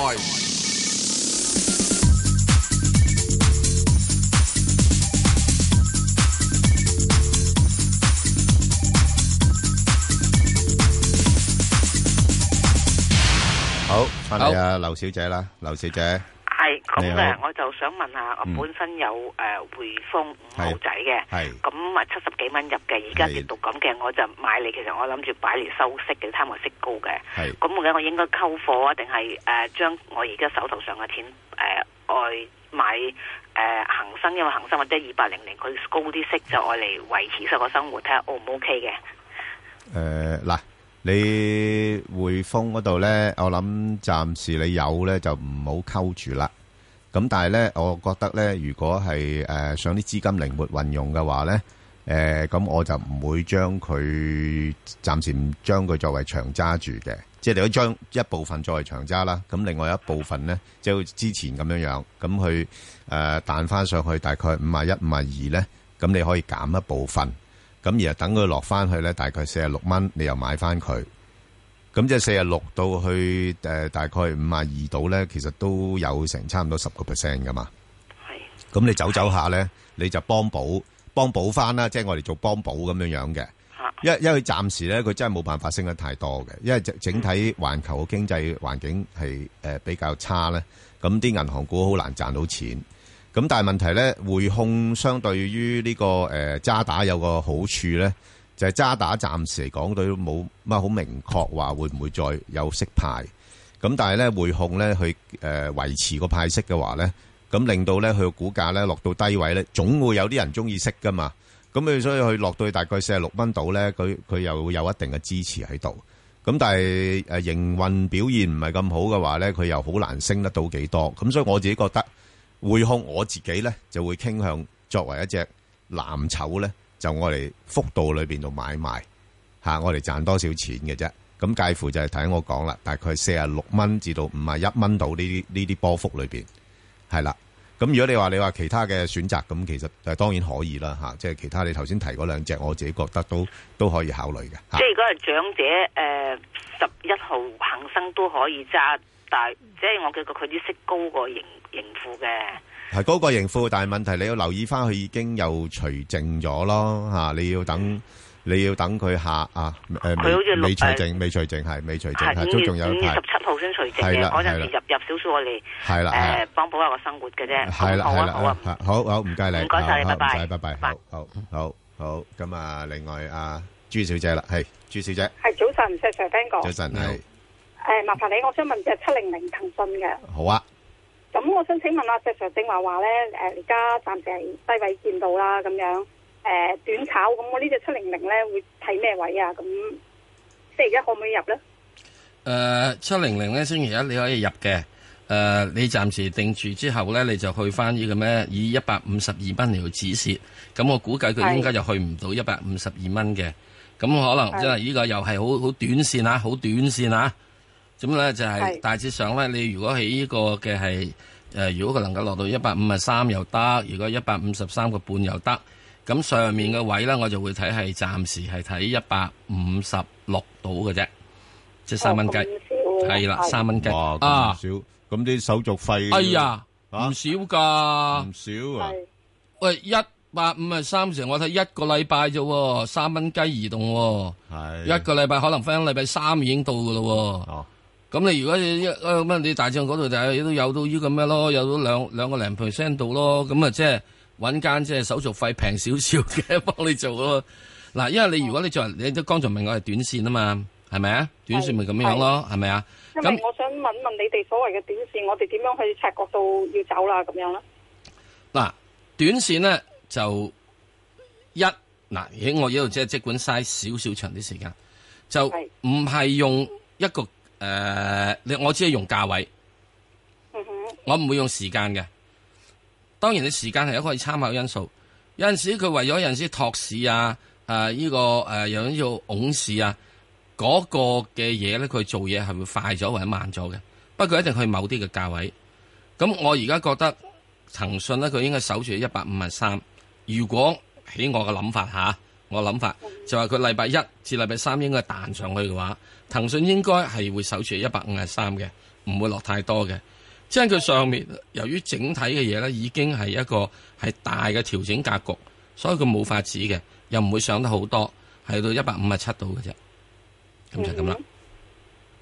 好，翻嚟啊，劉小姐啦，劉小姐。 係咁嘅，我就想問下，我本身有誒匯豐五號仔嘅，咁啊七十幾蚊入嘅，而家跌到咁嘅，我就買嚟。其實我諗住擺嚟收息嘅，貪我息高嘅。咁我嘅我應該溝貨啊，定係誒將我而家手頭上嘅錢誒外買誒恒生，因為恒生或者二八零零佢高啲息，就愛嚟維持實個生活，睇下 O 唔 OK 嘅。 誒嗱。你匯豐嗰度咧，我諗暫時你有咧就唔好溝住啦。咁但係咧，我覺得咧，如果係誒想啲資金靈活運用嘅話咧，誒、呃、咁我就唔會將佢暫時唔將佢作為長揸住嘅。即係你可以將一部分作為長揸啦。咁另外一部分咧，即係之前咁樣樣，咁去誒彈翻上去大概五啊一、五啊二咧，咁你可以減一部分。咁而等佢落翻去咧，大概四十六蚊，你又買翻佢。咁即係四十六到去誒、呃，大概五啊二度咧，其實都有成差唔多十個 percent 噶嘛。係。咁你走走下咧，你就幫補幫補翻啦，即係我哋做幫補咁樣樣嘅。因為因為暫時咧，佢真係冇辦法升得太多嘅，因為整整體環球嘅經濟環境係誒、呃、比較差咧，咁啲銀行股好難賺到錢。咁但係問題咧，匯控相對於呢、這個誒渣、呃、打有個好處咧，就係、是、渣打暫時嚟講都冇乜好明確話會唔會再有息派。咁但係咧匯控咧去誒維持個派息嘅話咧，咁令到咧佢個股價咧落到低位咧，總會有啲人中意息噶嘛。咁佢所以佢落到去大概四十六蚊度咧，佢佢又會有一定嘅支持喺度。咁但係誒營運表現唔係咁好嘅話咧，佢又好難升得到幾多。咁所以我自己覺得。匯控我自己咧就會傾向作為一隻藍籌咧，就我哋幅度裏邊度買賣吓、啊，我哋賺多少錢嘅啫。咁介乎就係睇我講啦，大概四十六蚊至到五十一蚊度呢啲呢啲波幅裏邊係啦。咁如果你話你話其他嘅選擇，咁其實誒當然可以啦吓、啊，即係其他你頭先提嗰兩隻，我自己覺得都都可以考慮嘅。 即係如果係長者誒十一號恒生都可以揸。但係即係我覺得佢啲息高過盈盈富嘅， 係高過盈富，但係問題你要留意翻，佢已經又除淨咗咯吓，你要等、嗯、你要等佢下啊誒，佢好似未除淨，未除淨係未除淨，係都仲有五月十七號先除淨嘅，嗰陣時入入少少我哋係啦，誒幫補下個生活嘅啫，係啦係啦，好啊，好好唔該你，唔該晒你，拜拜，拜拜，好好好好，咁啊，另外阿朱小姐啦，係朱小姐， 係早晨，石 Sir 聽過， 早晨係。 誒，麻煩你，我想問隻七零零騰訊嘅。 好啊。 咁我想請問阿石 Sir 正話話咧，誒而家暫時係低位見到啦，咁樣誒、呃、短炒，咁我呢隻七零零咧會睇咩位啊？咁星期一可唔可以入咧？ 誒，七零零咧星期一你可以入嘅。誒、呃，你暫時定住之後咧，你就去翻呢個咩？以一百五十二蚊嚟止蝕。咁我估計佢應該就去唔到一百五十二蚊嘅。咁可能即係呢個又係好好短線啊，好短線啊。咁咧就係大致上咧，你如果喺呢個嘅係誒，如果佢能夠落到一百五十三又得，如果一百五十三個半又得，咁上面嘅位咧，我就會睇係暫時係睇一百五十六度嘅啫，即係三蚊雞，係啦，三蚊雞啊， 少，咁啲手續費， 哎呀，唔少噶， 唔少啊， 喂，一百五十三成，我睇一個禮拜啫，三蚊雞移動，係一個禮拜可能翻禮拜三已經到噶咯。咁你如果你一咁你大漲嗰度就係都有到呢個咩咯，有到兩兩個零 percent 度咯，咁啊即係揾間即係手續費平少少嘅幫你做咯。嗱，因為你如果你做你都剛才問我係短線啊嘛，係咪啊？短線咪咁樣咯，係咪啊？ 咁我想問問你哋所謂嘅短線，我哋點樣去察覺到要走啦？咁樣咧？嗱， 短線咧就一嗱，喺我呢度即係即管嘥少少長啲時間，就唔係用一個。誒、呃，你我只係用價位，嗯、我唔會用時間嘅。當然，你時間係一個可以參考因素。有陣時佢為咗有陣時托市啊，誒、呃、呢、這個誒有啲叫拱市啊，嗰、那個嘅嘢咧，佢做嘢係會快咗或者慢咗嘅。不過一定去某啲嘅價位。咁我而家覺得騰訊咧，佢應該守住一百五十三。如果喺我嘅諗法吓。我諗法就係佢禮拜一至禮拜三應該彈上去嘅話，騰訊應該係會守住一百五十三嘅，唔會落太多嘅。即係佢上面由於整體嘅嘢咧，已經係一個係大嘅調整格局，所以佢冇法子嘅，又唔會上得好多，係到一百五十七度嘅啫。咁就咁啦。 即係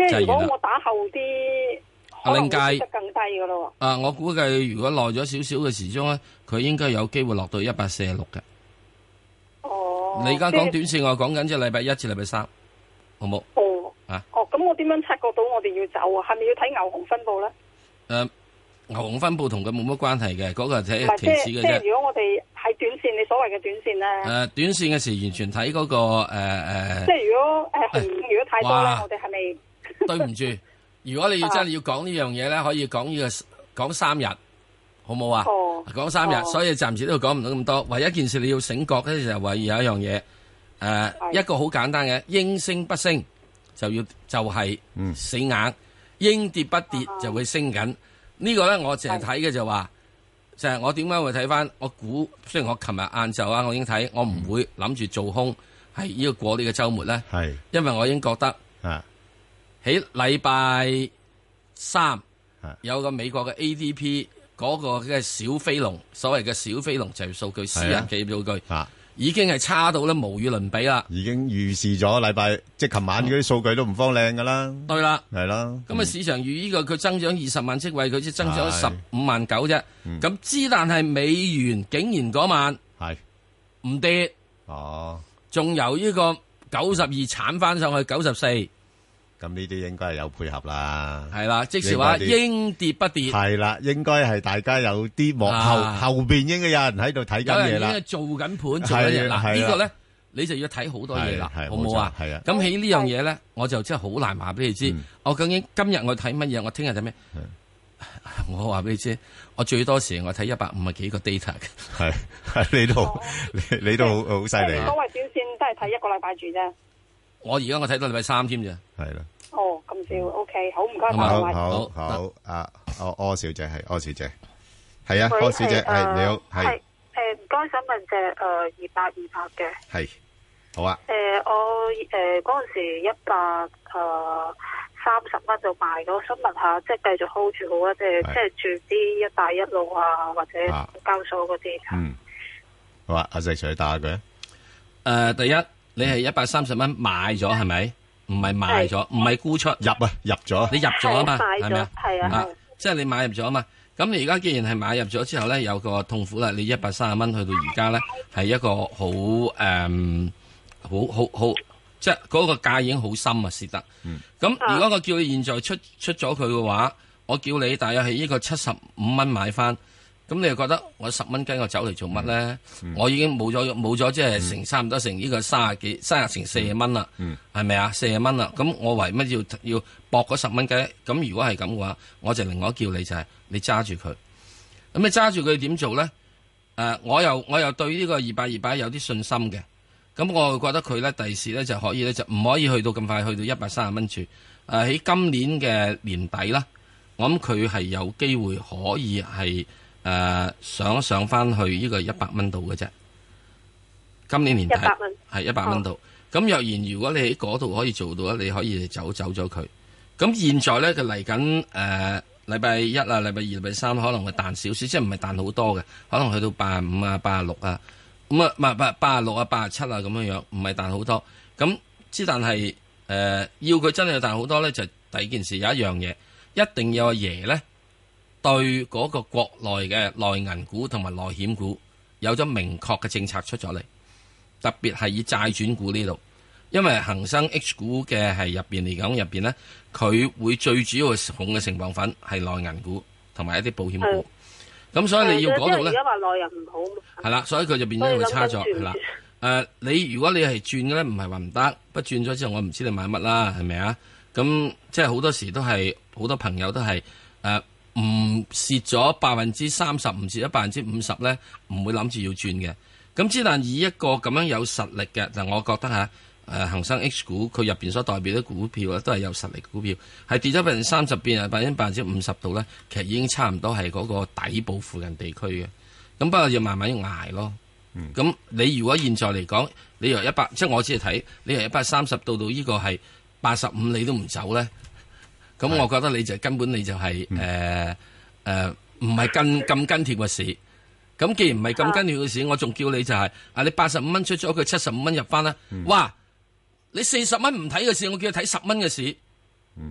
即係如果我打後啲，可能會跌得更低噶咯。 啊，我估計如果耐咗少少嘅時鐘咧，佢應該有機會落到一百四十六嘅。 哦， 你而家講短線，我講緊即係禮拜一至禮拜三，好冇？ 哦， 啊， 哦，咁我點樣察覺到我哋要走啊？係咪要睇牛熊分佈咧？誒、 呃，牛熊分佈同佢冇乜關係嘅，嗰、那個係睇期指嘅啫。 即係如果我哋係短線，你所謂嘅短線咧？誒、 呃，短線嘅時完全睇嗰、那個誒誒。呃、 即係如果誒熊、呃、如果太多咧，我哋係咪？ 對唔住，如果你要真係要講呢樣嘢咧，可以講呢、這個講三日，好冇啊？哦，講三日，哦、所以暫時都講唔到咁多。唯一一件事你要醒覺咧，就係話有一樣嘢，誒、呃，一個好簡單嘅，應升不升就要就係、是、死硬，嗯、應跌不跌就會升緊。這個、呢個咧，我淨係睇嘅就話，就係、是、我點解會睇翻？我估雖然我琴日晏晝啊，我已經睇，我唔會諗住做空，係呢個過呢個週末咧，係因為我已經覺得啊。喺禮拜三有個美國嘅 A D P 嗰個嘅小飛龍，所謂嘅小飛龍就係數據，私人企業數據，啊、已經係差到咧無與倫比啦。已經預示咗禮拜即係琴晚嗰啲數據都唔方靚噶啦。對啦，係啦。咁啊，市場預呢個佢增長二十萬職位，佢只增長十五萬九啫。咁之、嗯、但係美元竟然嗰晚係唔跌，哦，仲由呢個九十二鏟翻上去九十四。咁呢啲應該係有配合啦，係啦，即是話應跌不跌，係啦，應該係大家有啲幕後、啊、後邊應該有人喺度睇緊嘢啦，有人已經做緊盤做緊嘢啦，嗱呢個咧你就要睇好多嘢啦，好唔好啊？係啊，咁喺呢樣嘢咧，我就真係好難話俾你知，我究竟今日我睇乜嘢，我聽日睇咩？我話俾你知，我最多時我睇一百五十幾個 data 嘅，係係你都你你都好好犀利。 所謂短線都係睇一個禮拜住啫。我而家我睇到禮拜三添啫，係啦。 哦，咁少 OK，好唔該晒。 好好好，阿柯柯小姐係柯小姐，係啊，柯小姐係你好，係。誒， 唔該，想問隻誒二八二八嘅。係， 好啊。 誒，我誒嗰陣時一百誒三十蚊就賣咗，想問下，即係繼續 hold 住好啊？即係即係住啲一帶一路啊，或者交所嗰啲。嗯， 好啊，阿石 Sir 打佢。 誒，第一。你係一百三十蚊買咗係咪？唔係賣咗，唔係沽出入啊，入咗。你入咗啊嘛，係咪啊？係啊，即係你買入咗啊嘛。咁你而家既然係買入咗之後咧，有個痛苦啦。你一百三十蚊去到而家咧，係一個好誒，好好好，即係嗰個價已經好深啊，蝕得。咁、嗯、如果我叫你現在出出咗佢嘅話，我叫你大約係呢個七十五蚊買翻。咁你又覺得我十蚊雞我走嚟做乜咧？嗯、我已經冇咗冇咗，即係成差唔多成呢個三十幾三十成四十蚊啦，係咪啊？四十蚊啦，咁我為乜要要搏嗰十蚊雞？咁如果係咁嘅話，我就另外叫你就係、是、你揸住佢。咁你揸住佢點做咧？誒、呃，我又我又對呢個二百二百有啲信心嘅。咁我會覺得佢咧第時咧就可以咧就唔可以去到咁快去到一百三十蚊住。誒、呃、喺今年嘅年底啦，我諗佢係有機會可以係。誒、呃，上上翻去呢個一百蚊度嘅啫，今年年底係一百蚊度。咁、哦、若然如果你喺嗰度可以做到咧，你可以走走咗佢。咁現在咧，佢嚟緊誒禮拜一啊、禮拜二、禮拜三可能會彈少少，即係唔係彈好多嘅，可能去到八十五啊、八十六啊，咁啊唔係八八十六啊、八十七啊咁樣樣，唔係彈好多。咁之但係誒、呃，要佢真係彈好多咧，就第二件事有一樣嘢，一定要阿爺咧。對嗰個國內嘅內銀股同埋內險股有咗明確嘅政策出咗嚟，特別係以債轉股呢度，因為恒生 H 股嘅係入邊嚟講入邊咧，佢會最主要嘅控嘅成分粉係內銀股同埋一啲保險股，咁、嗯、所以你要嗰度咧， 而家話內銀唔好， 係啦，所以佢就變咗會差咗，係啦。誒、呃，你如果你係轉嘅咧，唔係話唔得，不轉咗之後我唔知你買乜啦，係咪啊？咁即係好多時都係好多朋友都係誒。呃唔蝕咗百分之三十，唔蝕咗百分之五十咧，唔會諗住要轉嘅。咁之但以一個咁樣有實力嘅，就我覺得吓，誒恒生 H 股佢入邊所代表嘅股票咧，都係有實力嘅股票，係跌咗百分之三十，變係百分之百分之五十度咧，其實已經差唔多係嗰個底部附近地區嘅。咁不過要慢慢捱咯。咁、嗯、你如果現在嚟講，你由一百，即係我只係睇，你由一百三十到到呢個係八十五，你都唔走咧？咁我覺得你就根本你就係誒誒唔係跟咁跟貼嘅市。咁既然唔係咁跟貼嘅市，我仲叫你就係、是、啊你八十五蚊出咗佢七十五蚊入翻啦。嗯、哇！你四十蚊唔睇嘅市，我叫你睇十蚊嘅市。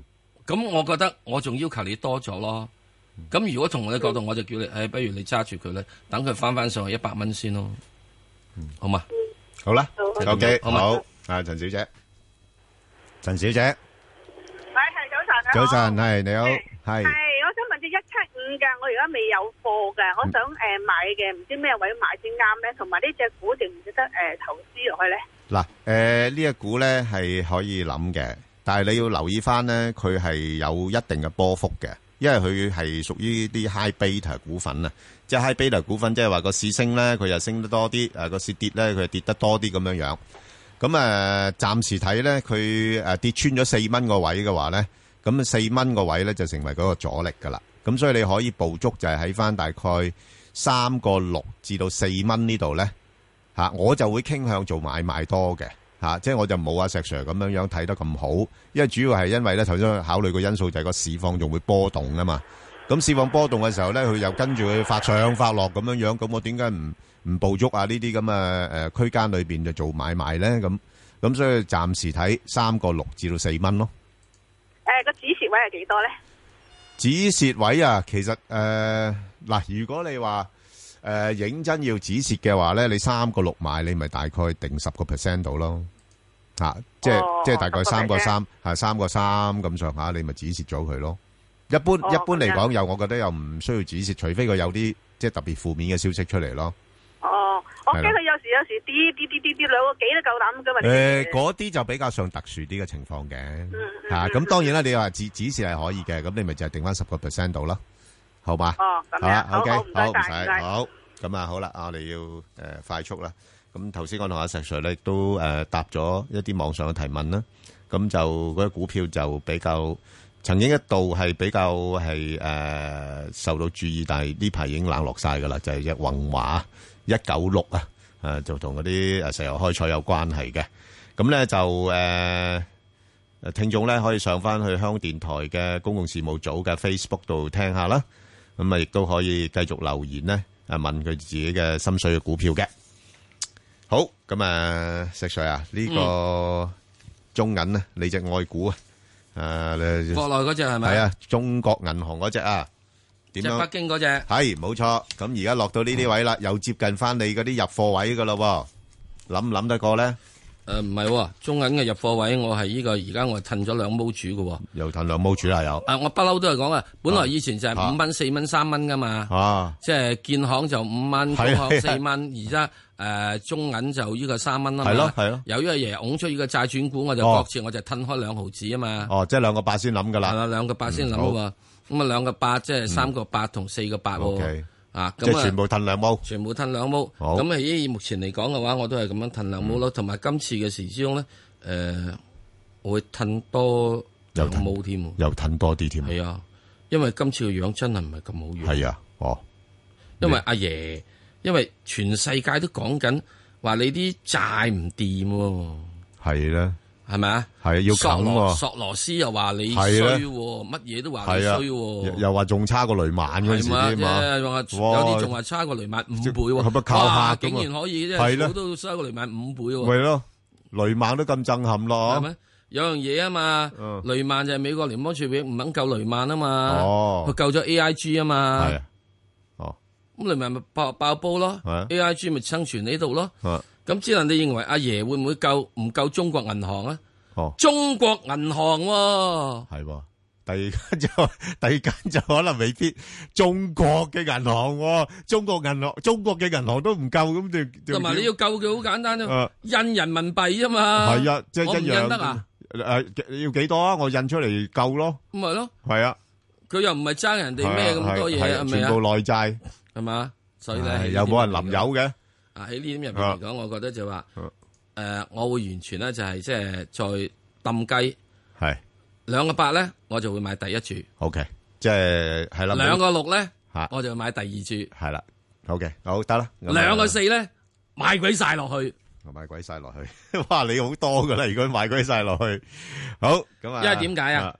咁我覺得我仲要求你多咗咯。咁如果從我嘅角度，我就叫你，誒，不如你揸住佢咧，等佢翻翻上去一百蚊先咯。好嘛？ 好啦 ，OK， 好好。啊，陳小姐，陳小姐， 係係早晨啊， 早晨係你好，係。 係，我想問隻一七五嘅，我而家未有貨嘅，我想誒買嘅，唔知咩位買先啱咧？同埋呢隻股值唔值得誒投資落去咧？ 嗱，誒呢一股咧係可以諗嘅，但係你要留意翻咧，佢係有一定嘅波幅嘅。因為佢係屬於啲 high beta 股份啊，即係 high beta 股份，即係話個市升咧，佢又升得多啲；誒個市跌咧，佢又跌得多啲咁樣樣。咁誒，暫時睇咧，佢誒跌穿咗四蚊個位嘅話咧，咁四蚊個位咧就成為嗰個阻力噶啦。咁所以你可以捕捉就係喺翻大概三個六至到四蚊呢度咧嚇，我就會傾向做買賣多嘅。吓、啊，即係我就冇阿石 Sir 咁樣樣睇得咁好，因為主要係因為咧頭先考慮個因素就係個市況仲會波動啊嘛。咁市況波動嘅時候咧，佢又跟住佢發上發落咁樣樣，咁我點解唔唔捕捉啊？呢啲咁嘅誒區間裏邊就做買賣咧？咁咁所以暫時睇三個六至到四蚊咯。 誒，個止蝕位係幾多咧？ 止蝕位啊，其實誒嗱、呃，如果你話。誒、呃，認真要止蝕嘅話咧，你三個六買，你咪大概定十個 percent 到咯，吓、啊，即係、哦、即係大概三個三，係三個三咁上下，你咪止蝕咗佢咯。一般、哦、一般嚟講，又我覺得又唔需要止蝕，除非佢有啲即係特別負面嘅消息出嚟咯。 哦，我驚佢有時有時跌跌跌跌跌兩個幾都夠膽噶嘛。誒、 呃，嗰啲就比較上特殊啲嘅情況嘅，吓、嗯，咁、啊、當然啦，你話止止蝕係可以嘅，咁你咪就係定翻十個 percent 到啦。好吧， 哦，咁樣， 好 OK， 好，唔該晒， 好，咁啊，好啦，我哋要誒快速啦。咁頭先我同阿石 Sir 咧都誒答咗一啲網上嘅提問啦。咁就嗰啲股票就比較曾經一度係比較係誒受到注意，但係呢排已經冷落晒噶啦，就係隻宏華一九六啊，誒就同嗰啲誒石油開採有關係嘅。咁咧就誒誒聽眾咧可以上翻去香港電台嘅公共事務組嘅 Facebook 度聽下啦。咁啊，亦都可以繼續留言咧，啊問佢自己嘅心水嘅股票嘅。好，咁啊，石 Sir 啊，呢個中銀咧，你隻愛股啊，誒， 國內嗰隻係咪？ 係啊，中國銀行嗰隻啊，點樣？ 即係北京嗰隻。 係，冇錯。咁而家落到呢啲位啦，又接近翻你嗰啲入貨位噶咯，諗唔諗得過咧？ 誒，唔係，中銀嘅入貨位，我係呢個而家我係褪咗兩毛主嘅， 又褪兩毛主啦，有。 誒，我不嬲都係講啊，本來以前就係五蚊、四蚊、三蚊噶嘛，啊，即係建行就五蚊，工行四蚊，而家誒中銀就呢個三蚊啦嘛。係咯，係咯。由於阿爺拱出呢個債轉股，我就各自我就褪開兩毫子啊嘛。哦， 即係兩個八先諗噶啦。係啦， 兩個八先諗喎。咁啊，兩個八即係三個八同四個八喎。啊， 即係全部褪兩毛， 全部褪兩毛。咁啊，以目前嚟講嘅話，我都係咁樣褪兩毛咯。同埋今次嘅時之中咧，誒，我會褪多兩毛添， 又褪多啲添。 係啊，因為今次嘅樣真係唔係咁好樣。 係啊，哦， 因為阿爺，因為全世界都講緊話你啲債唔掂， 係咧。 係咪啊？ 係要啃喎。 索羅斯又話你衰，乜嘢都話你衰， 又話仲差過雷曼嗰陣時添嘛？ 有啲仲話差過雷曼五倍喎。哇！竟然可以啫，好都差過雷曼五倍喎。 係咯，雷曼都咁震撼咯。 係咪？有樣嘢啊嘛，雷曼就係美國聯邦儲備唔肯救雷曼啊嘛。哦，佢救咗 A I G 啊嘛。係。哦。咁雷曼咪爆爆煲咯。A I G 咪生存喺度咯。咁只能你認為阿爺會唔會救唔救中國銀行啊？哦，中國銀行喎， 係，第二間就第二間就可能未必中國嘅銀行，中國銀行中國嘅銀行都唔夠咁就。 同埋你要救佢好簡單啫，印人民幣啫嘛。 係啊，即係一樣。印得啊？誒，要幾多啊？我印出嚟夠咯。 咁咪咯。 係啊。 佢又唔係爭人哋咩咁多嘢，係咪啊？ 全部內債係嘛？所以咧， 有冇人臨有嘅？ 喺呢點入邊嚟講，我覺得就話，誒，我會完全咧就係即係再抌雞，係兩個八咧，我就會買第一注。 O K，即係係啦。 兩個六咧，我就買第二注。係啦。O K，好得啦。 兩個四咧，買鬼晒落去。 我買鬼晒落去，哇！你好多噶啦，如果買鬼晒落去，好咁啊。 因為點解啊？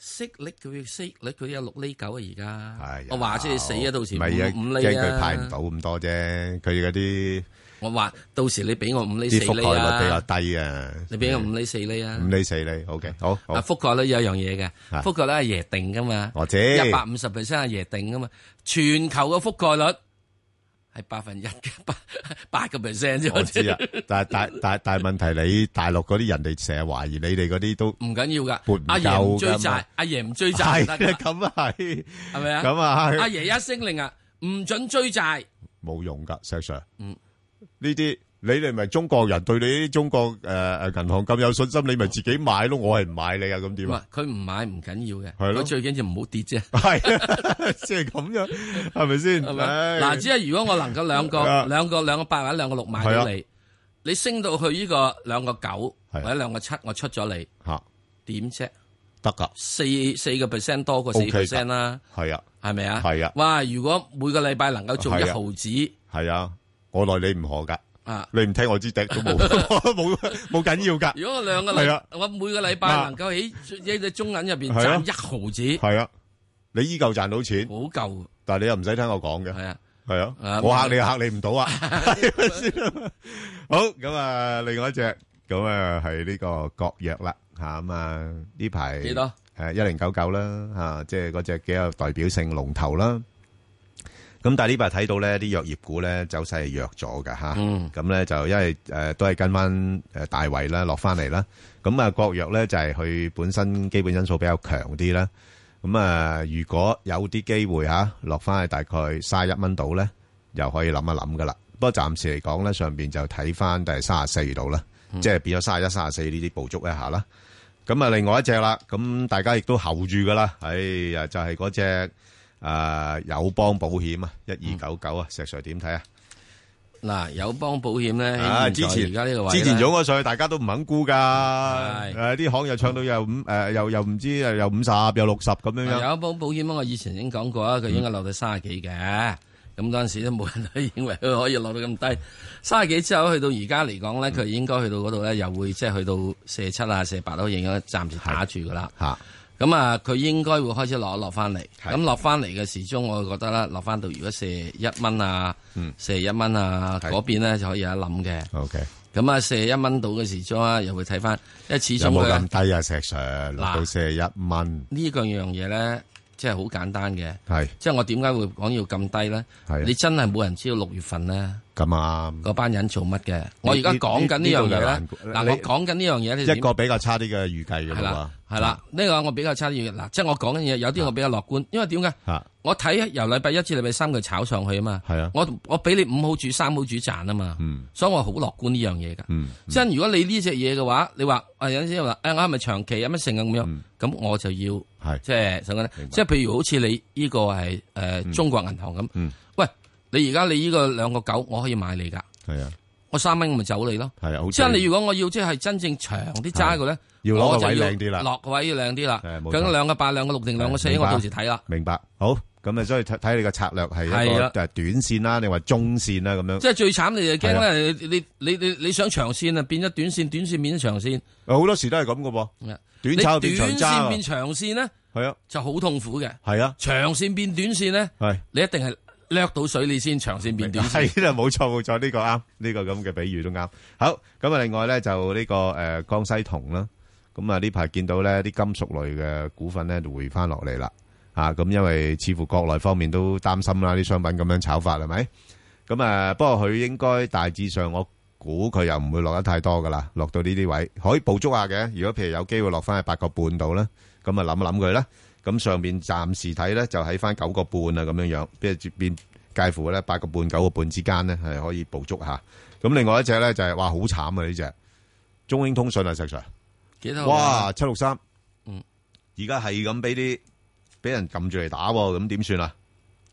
息率佢息率佢有六厘九啊，而家我話知你死啊，到時唔係啊， 五厘啊， 驚佢派唔到咁多啫。佢嗰啲我話到時你俾我五厘四厘啊， 啲覆蓋率比較低啊。 你俾我五厘四厘啊， 五厘四厘 ，OK， 好。 啊，覆蓋率有一樣嘢嘅，覆蓋率係爺定噶嘛， 我知一百五十 percent 係爺定噶嘛，全球嘅覆蓋率係百分一嘅八八個 percent 啫。 我知啊，但係但但但係問題，你大陸嗰啲人哋成日懷疑你哋嗰啲都唔緊要噶， 撥唔夠㗎嘛。 阿爺唔追債，阿爺唔追債得㗎。 咁啊係， 係咪啊？ 咁啊係。 阿爺一聲令啊，唔准追債， 冇用噶，石 Sir。 嗯， 呢啲你哋咪中國人對你啲中國誒誒銀行咁有信心，你咪自己買咯。我係唔買你啊，咁點啊？ 佢唔買唔緊要嘅， 係咯， 佢最緊要唔好跌啫。 係，即係咁樣，係咪先？ 係咪？嗱，只係如果我能夠兩個兩個兩個八或者兩個六買到你，你升到去呢個兩個九或者兩個七，我出咗你吓， 點啫？ 得噶， 四四個 percent 多過四 percent 啦。係啊， 係咪啊？ 係啊。 哇！如果每個禮拜能夠做一毫子， 係啊，我奈你唔何噶。 啊！ 你唔聽我支笛都冇冇冇緊要噶。 如果我兩個禮，我每個禮拜能夠喺一隻中銀入邊賺一毫子， 係啊，你依舊賺到錢， 好夠。 但係你又唔使聽我講嘅，係啊， 係啊，我嚇你嚇你唔到啊。好，咁啊，另外一隻咁啊係呢個國藥啦嚇，咁啊呢排幾多？ 誒一零九九啦嚇，即係嗰隻幾有代表性龍頭啦。咁但係呢排睇到咧，啲藥業股咧走勢係弱咗㗎吓，咁咧就因為誒都係跟翻誒大圍啦，落翻嚟啦。咁啊國藥咧就係佢本身基本因素比較強啲啦。咁啊如果有啲機會吓落翻去大概卅一蚊度咧，又可以諗一諗噶啦。不過暫時嚟講咧，上邊就睇翻第三十四度啦，即係變咗卅一、卅四呢啲捕捉一下啦。咁啊另外一隻啦，咁大家亦都候住噶啦，哎呀就係嗰隻。誒，友邦保險啊，一二九九啊，石 Sir 點睇啊？ 嗱，友邦保險咧， 啊，之前而家呢個位， 之前湧咗上去，大家都唔肯估噶，誒，啲行又唱到又五誒，又又唔知又五十又六十咁樣樣。 友邦保險我以前已經講過啊，佢應該落到三十幾嘅，咁嗰陣時都冇人都認為佢可以落到咁低，三十幾之後去到而家嚟講咧，佢應該去到嗰度咧，又會即係去到四十七啊、四十八都應該暫時打住噶啦。吓。咁啊，佢應該會開始落一落翻嚟。咁落翻嚟嘅時鐘，我覺得咧，落翻到如果四十一蚊啊，四十一蚊啊，嗰邊咧就可以有一諗嘅。 OK。咁啊，四十一蚊到嘅時鐘啊，又會睇翻，因為始終有冇咁低啊？石 Sir 落到四十一蚊。 呢個樣嘢咧，即係好簡單嘅。 係。 即係我點解會講要咁低咧？係。你真係冇人知道六月份咧。 咁啊， 嗰班人做乜嘅？我而家講緊呢樣嘢咧。嗱，我講緊呢樣嘢咧， 一個比較差啲嘅預計嘅啦。 係啦，呢個我比較差啲嘅。嗱，即係我講緊嘢，有啲我比較樂觀，因為點解？我睇由禮拜一至禮拜三佢炒上去啊嘛。係啊。我我俾你五毫主三毫主賺啊嘛。嗯。所以我好樂觀呢樣嘢噶。嗯。即係如果你呢隻嘢嘅話，你話啊有陣時話誒我係咪長期有乜成啊咁樣？咁我就要係即係想講咧，即係譬如好似你呢個係誒中國銀行咁。嗯。喂，你而家你呢個兩個九，我可以買你噶。係啊。我三蚊咪走你咯。係啊。即係你如果我要即係真正長啲揸嘅咧。 要攞個位靚啲啦， 落個位要靚啲啦。咁兩個八、兩個六定兩個四，我到時睇啦。 明白，好，咁啊，所以睇睇你個策略係一個誒短線啦，定話中線啦咁樣。 即係最慘，你就驚咧，你你你你想長線啊，變咗短線，短線變咗長線。 好多時都係咁噶噃，短炒變長揸。 短線變長線咧， 係啊， 就好痛苦嘅。 係啊， 長線變短線咧，係你一定係掠到水你先，長線變短線。 係啦，冇錯冇錯，呢個啱，呢個咁嘅比喻都啱。好，咁啊，另外咧就呢個誒江西銅啦。咁啊！呢排見到咧啲金屬類嘅股份咧就回翻落嚟啦，啊！咁因為似乎國內方面都擔心啦，啲商品咁樣炒法係咪？咁啊，不過佢應該大致上，我估佢又唔會落得太多噶啦，落到呢啲位可以捕捉下嘅。如果譬如有機會落翻去八個半度啦，咁啊諗一諗佢啦。咁上邊暫時睇咧就喺翻九個半啊咁樣樣，即係變介乎咧八個半九個半之間咧係可以捕捉下。咁另外一隻咧就係哇好慘啊！呢隻中英通訊啊，石 Sir。哇，七六三，嗯，而家係咁俾啲俾人撳住嚟打，咁點算啊？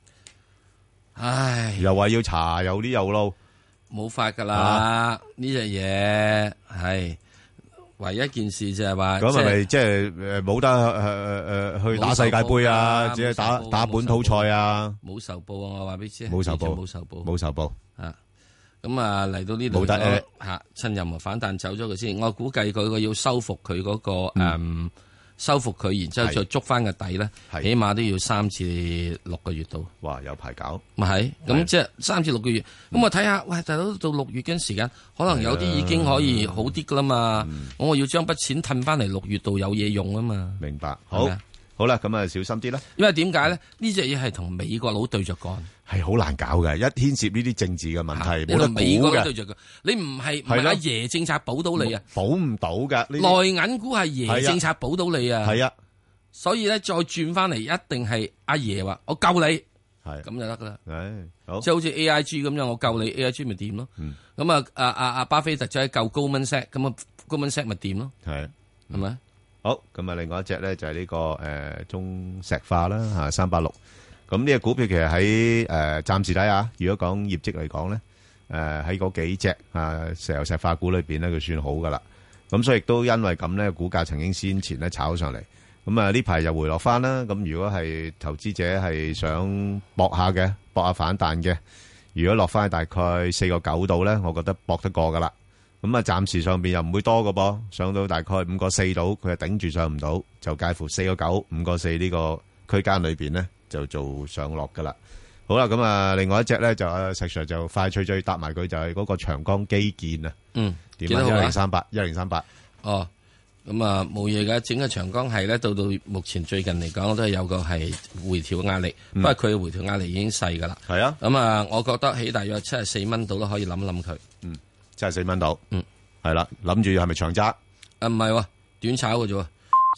唉，又話要查，又啲又路， 冇法噶啦！呢隻嘢係唯一一件事就係話， 咁係咪即係誒冇得誒誒去打世界盃啊？只係打打本土賽啊？ 冇仇報啊！我話俾你知， 冇仇報， 冇仇報， 冇仇報啊！咁啊嚟到呢度吓，趁任何反彈走咗佢先。我估計佢個要收復佢嗰個誒收復佢，然之後再捉翻個底咧，起碼都要三至六個月到。 哇，有排搞。 咪係，咁即係三至六個月。咁我睇下，喂，大佬到六月嘅時間，可能有啲已經可以好啲噶啦嘛。我我要將筆錢褪翻嚟六月度有嘢用啊嘛。 明白。好，好啦，咁啊小心啲啦。 因為點解咧？呢隻嘢係同美國佬對着幹， 係好難搞嘅。一牽涉呢啲政治嘅問題，冇得估嘅。 美國佬對着幹，你唔係唔係阿爺政策保到你啊？ 保唔到噶。 內銀股係爺政策保到你啊？ 係啊。 所以咧，再轉翻嚟，一定係阿爺話我救你，係咁就得噶啦。 係好， 即係好似 A I G 咁樣，我救你 A I G 咪掂咯。咁啊，阿阿阿巴菲特就係救高文 set，咁啊高文 set 咪掂咯。 係係咪？ 好，咁啊，另外一隻咧就係呢個誒中石化啦吓，三八六。咁呢個股票其實喺誒暫時睇下，如果講業績嚟講咧，誒喺嗰幾隻啊石油石化股裏邊咧，佢算好噶啦。咁所以亦都因為咁咧，股價曾經先前咧炒上嚟。咁啊呢排又回落翻啦。咁如果係投資者係想搏下嘅，搏下反彈嘅，如果落翻去大概四個九度咧，我覺得搏得過噶啦。咁啊，暫時上邊又唔會多㗎噃，上到大概五個四度，佢係頂住上唔到，就介乎四個九、五個四呢個區間裏邊咧，就做上落噶啦。好啦，咁啊，另外一隻咧就阿石 Sir 就快脆脆搭埋佢，就係嗰個長江基建啊。嗯，點啊？一零三八，一零三八。哦，咁啊冇嘢嘅，整個長江係咧，到到目前最近嚟講都係有個係回調壓力，不過佢嘅回調壓力已經細噶啦。係啊。咁啊，我覺得起大約七十四蚊度都可以諗一諗佢。嗯。七十四蚊到，嗯，係啦，諗住係咪長揸？啊，唔係喎，短炒嘅啫喎。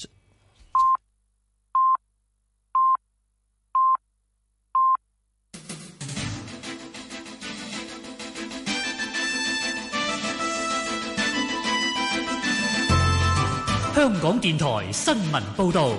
香港電台新聞報導。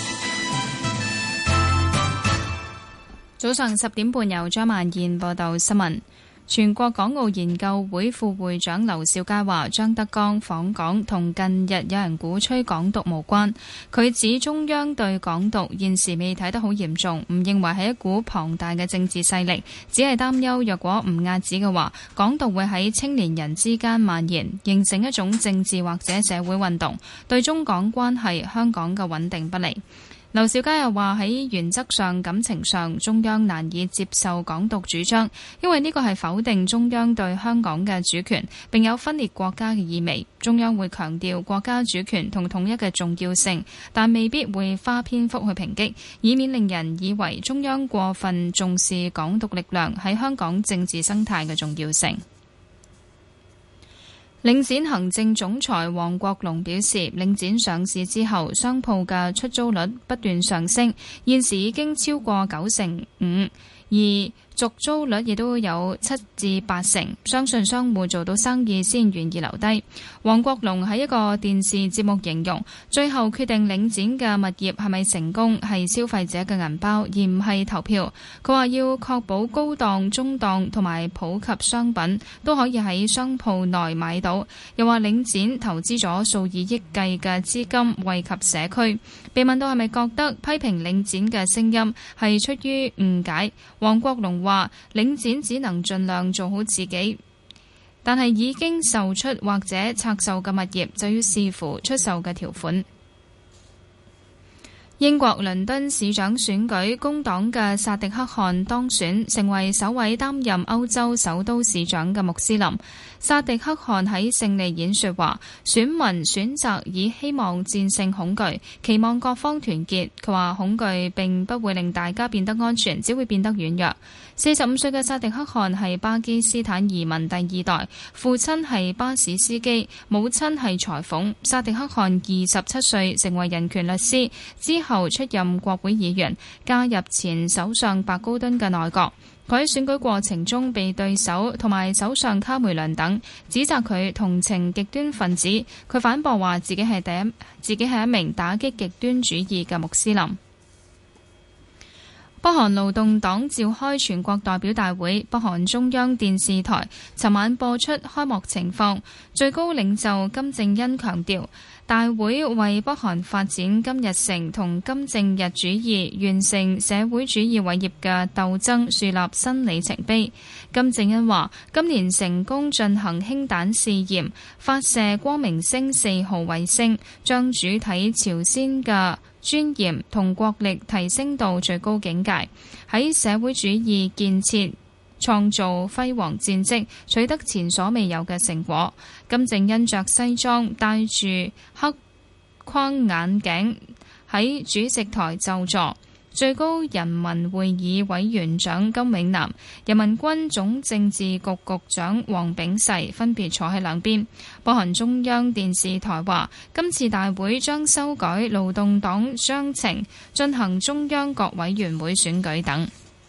早上十點半，由張萬燕報道新聞。全國港澳研究會副會長劉兆佳話：張德江訪港同近日有人鼓吹港獨無關。佢指中央對港獨現時未睇得好嚴重，唔認為係一股龐大嘅政治勢力，只係擔憂若果唔遏止嘅話，港獨會喺青年人之間蔓延，形成一種政治或者社會運動，對中港關係、香港嘅穩定不利。劉兆佳又話喺原則上、感情上，中央難以接受港獨主張，因為呢個係否定中央對香港嘅主權，並有分裂國家嘅意味。中央會強調國家主權同統一嘅重要性，但未必會花篇幅去抨擊，以免令人以為中央過分重視港獨力量喺香港政治生態嘅重要性。領展行政總裁黃國龍表示，領展上市之後，商鋪嘅出租率不斷上升，現時已經超過九成五，而續租率亦都有七至八成，相信商戶做到生意先願意留低。黃國龍喺一個電視節目形容，最後決定領展嘅物業係咪成功係消費者嘅銀包，而唔係投票。佢話要確保高檔、中檔同埋普及商品都可以喺商鋪內買到。又話領展投資咗數以億計嘅資金惠及社區。被問到係咪覺得批評領展嘅聲音係出於誤解，黃國龍話話領展只能盡量做好自己，但係已經售出或者拆售嘅物業就要視乎出售嘅條款。英國倫敦市長選舉，工黨嘅薩迪克汗當選，成為首位擔任歐洲首都市長嘅穆斯林。薩迪克汗喺勝利演說話，選民選擇以希望戰勝恐懼，期望各方團結。佢話恐懼並不會令大家變得安全，只會變得軟弱。四十五歲嘅薩迪克汗係巴基斯坦移民第二代，父親係巴士司機，母親係裁縫。薩迪克汗二十七歲成為人權律師，之後出任國會議員，加入前首相白高敦嘅內閣。佢喺選舉過程中被對手同埋首相卡梅倫等指責佢同情極端分子，佢反駁話自己係第一，自己係一名打擊極端主義嘅穆斯林。 北韓勞動黨召開全國代表大會，北韓中央電視台尋晚播出開幕情況。最高領袖金正恩強調，大會為北韓發展金日成同金正日主義、完成社會主義偉業嘅鬥爭樹立新里程碑。金正恩話：今年成功進行氫彈試驗，發射光明星四號衛星，將主體朝鮮嘅尊嚴同國力提升到最高境界，喺社會主義建設創造輝煌戰績，取得前所未有嘅成果。金正恩着西裝，戴住黑框眼鏡，喺主席台就座。最高人民會議委員長金永南、人民軍總政治局局長黃炳誓分別坐喺兩邊。北韓中央電視台話，今次大會將修改勞動黨章程，進行中央各委員會選舉等。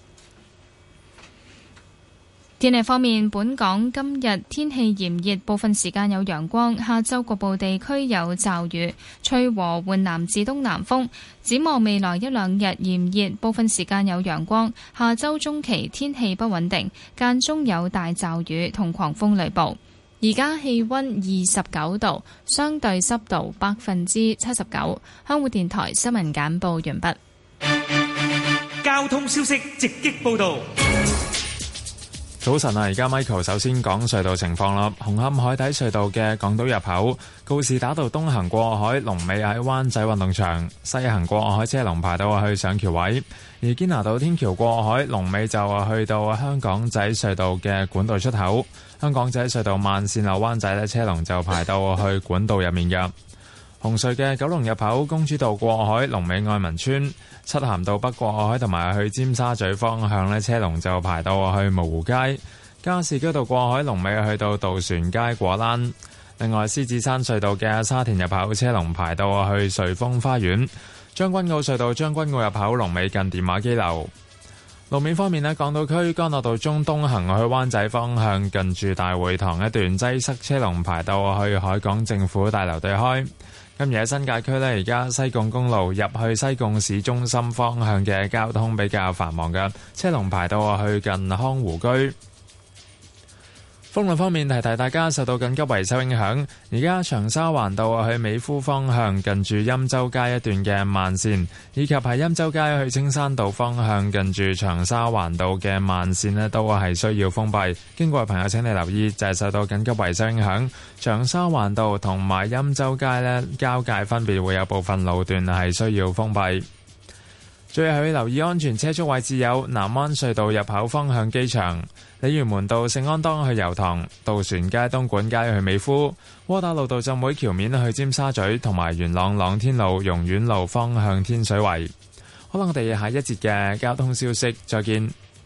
天氣方面，本港今日天氣炎熱，部分時間有陽光，下晝局部地區有驟雨，吹和緩南至東南風。展望未來一兩日炎熱，部分時間有陽光，下週中期天氣不穩定，間中有大驟雨同狂風雷暴。而家氣溫二十九度，相對濕度百分之七十九。香港電台新聞簡報完畢。 交通消息直擊報道。 早晨啊，而家 Michael 首先講隧道情況啦。紅磡海底隧道嘅港島入口，告士打道東行過海，龍尾喺灣仔運動場；西行過海車龍排到去上橋位。而堅拿道天橋過海，龍尾就去到香港仔隧道嘅管道出口。香港仔隧道慢線落灣仔咧，車龍就排到去管道入面嘅。紅隧嘅九龍入口，公主道過海，龍尾愛民村；漆咸道北過海同埋去尖沙咀方向咧，車龍就排到去蕪湖街；加士居道過海，龍尾去到渡船街果欄。另外，獅子山隧道嘅沙田入口，車龍排到去瑞豐花園；將軍澳隧道將軍澳入口，龍尾近電話機樓。路面方面咧，港島區干諾道中東行去灣仔方向，近住大會堂一段擠塞，車龍排到去海港政府大樓對開。今日喺新界區呢，而家西貢公路入去西貢市中心方向嘅交通比較繁忙嘅，車龍排到去近康湖居。封路方面，提提大家受到緊急維修影響，而家長沙灣道去美孚方向近住欽州街一段嘅慢線，以及喺欽州街去青山道方向近住長沙灣道嘅慢線呢，都係需要封閉。經過嘅朋友請你留意，就係受到緊急維修影響，長沙灣道同埋欽州街呢交界分別會有部分路段係需要封閉。最後要留意安全車速位置有南灣隧道入口方向機場、鯉魚門道聖安當去油塘、渡船街東莞街去美孚、窩打老道浸會橋面去尖沙咀，同埋元朗朗天路榕苑路方向天水圍。好啦，我哋下一節嘅交通消息再見。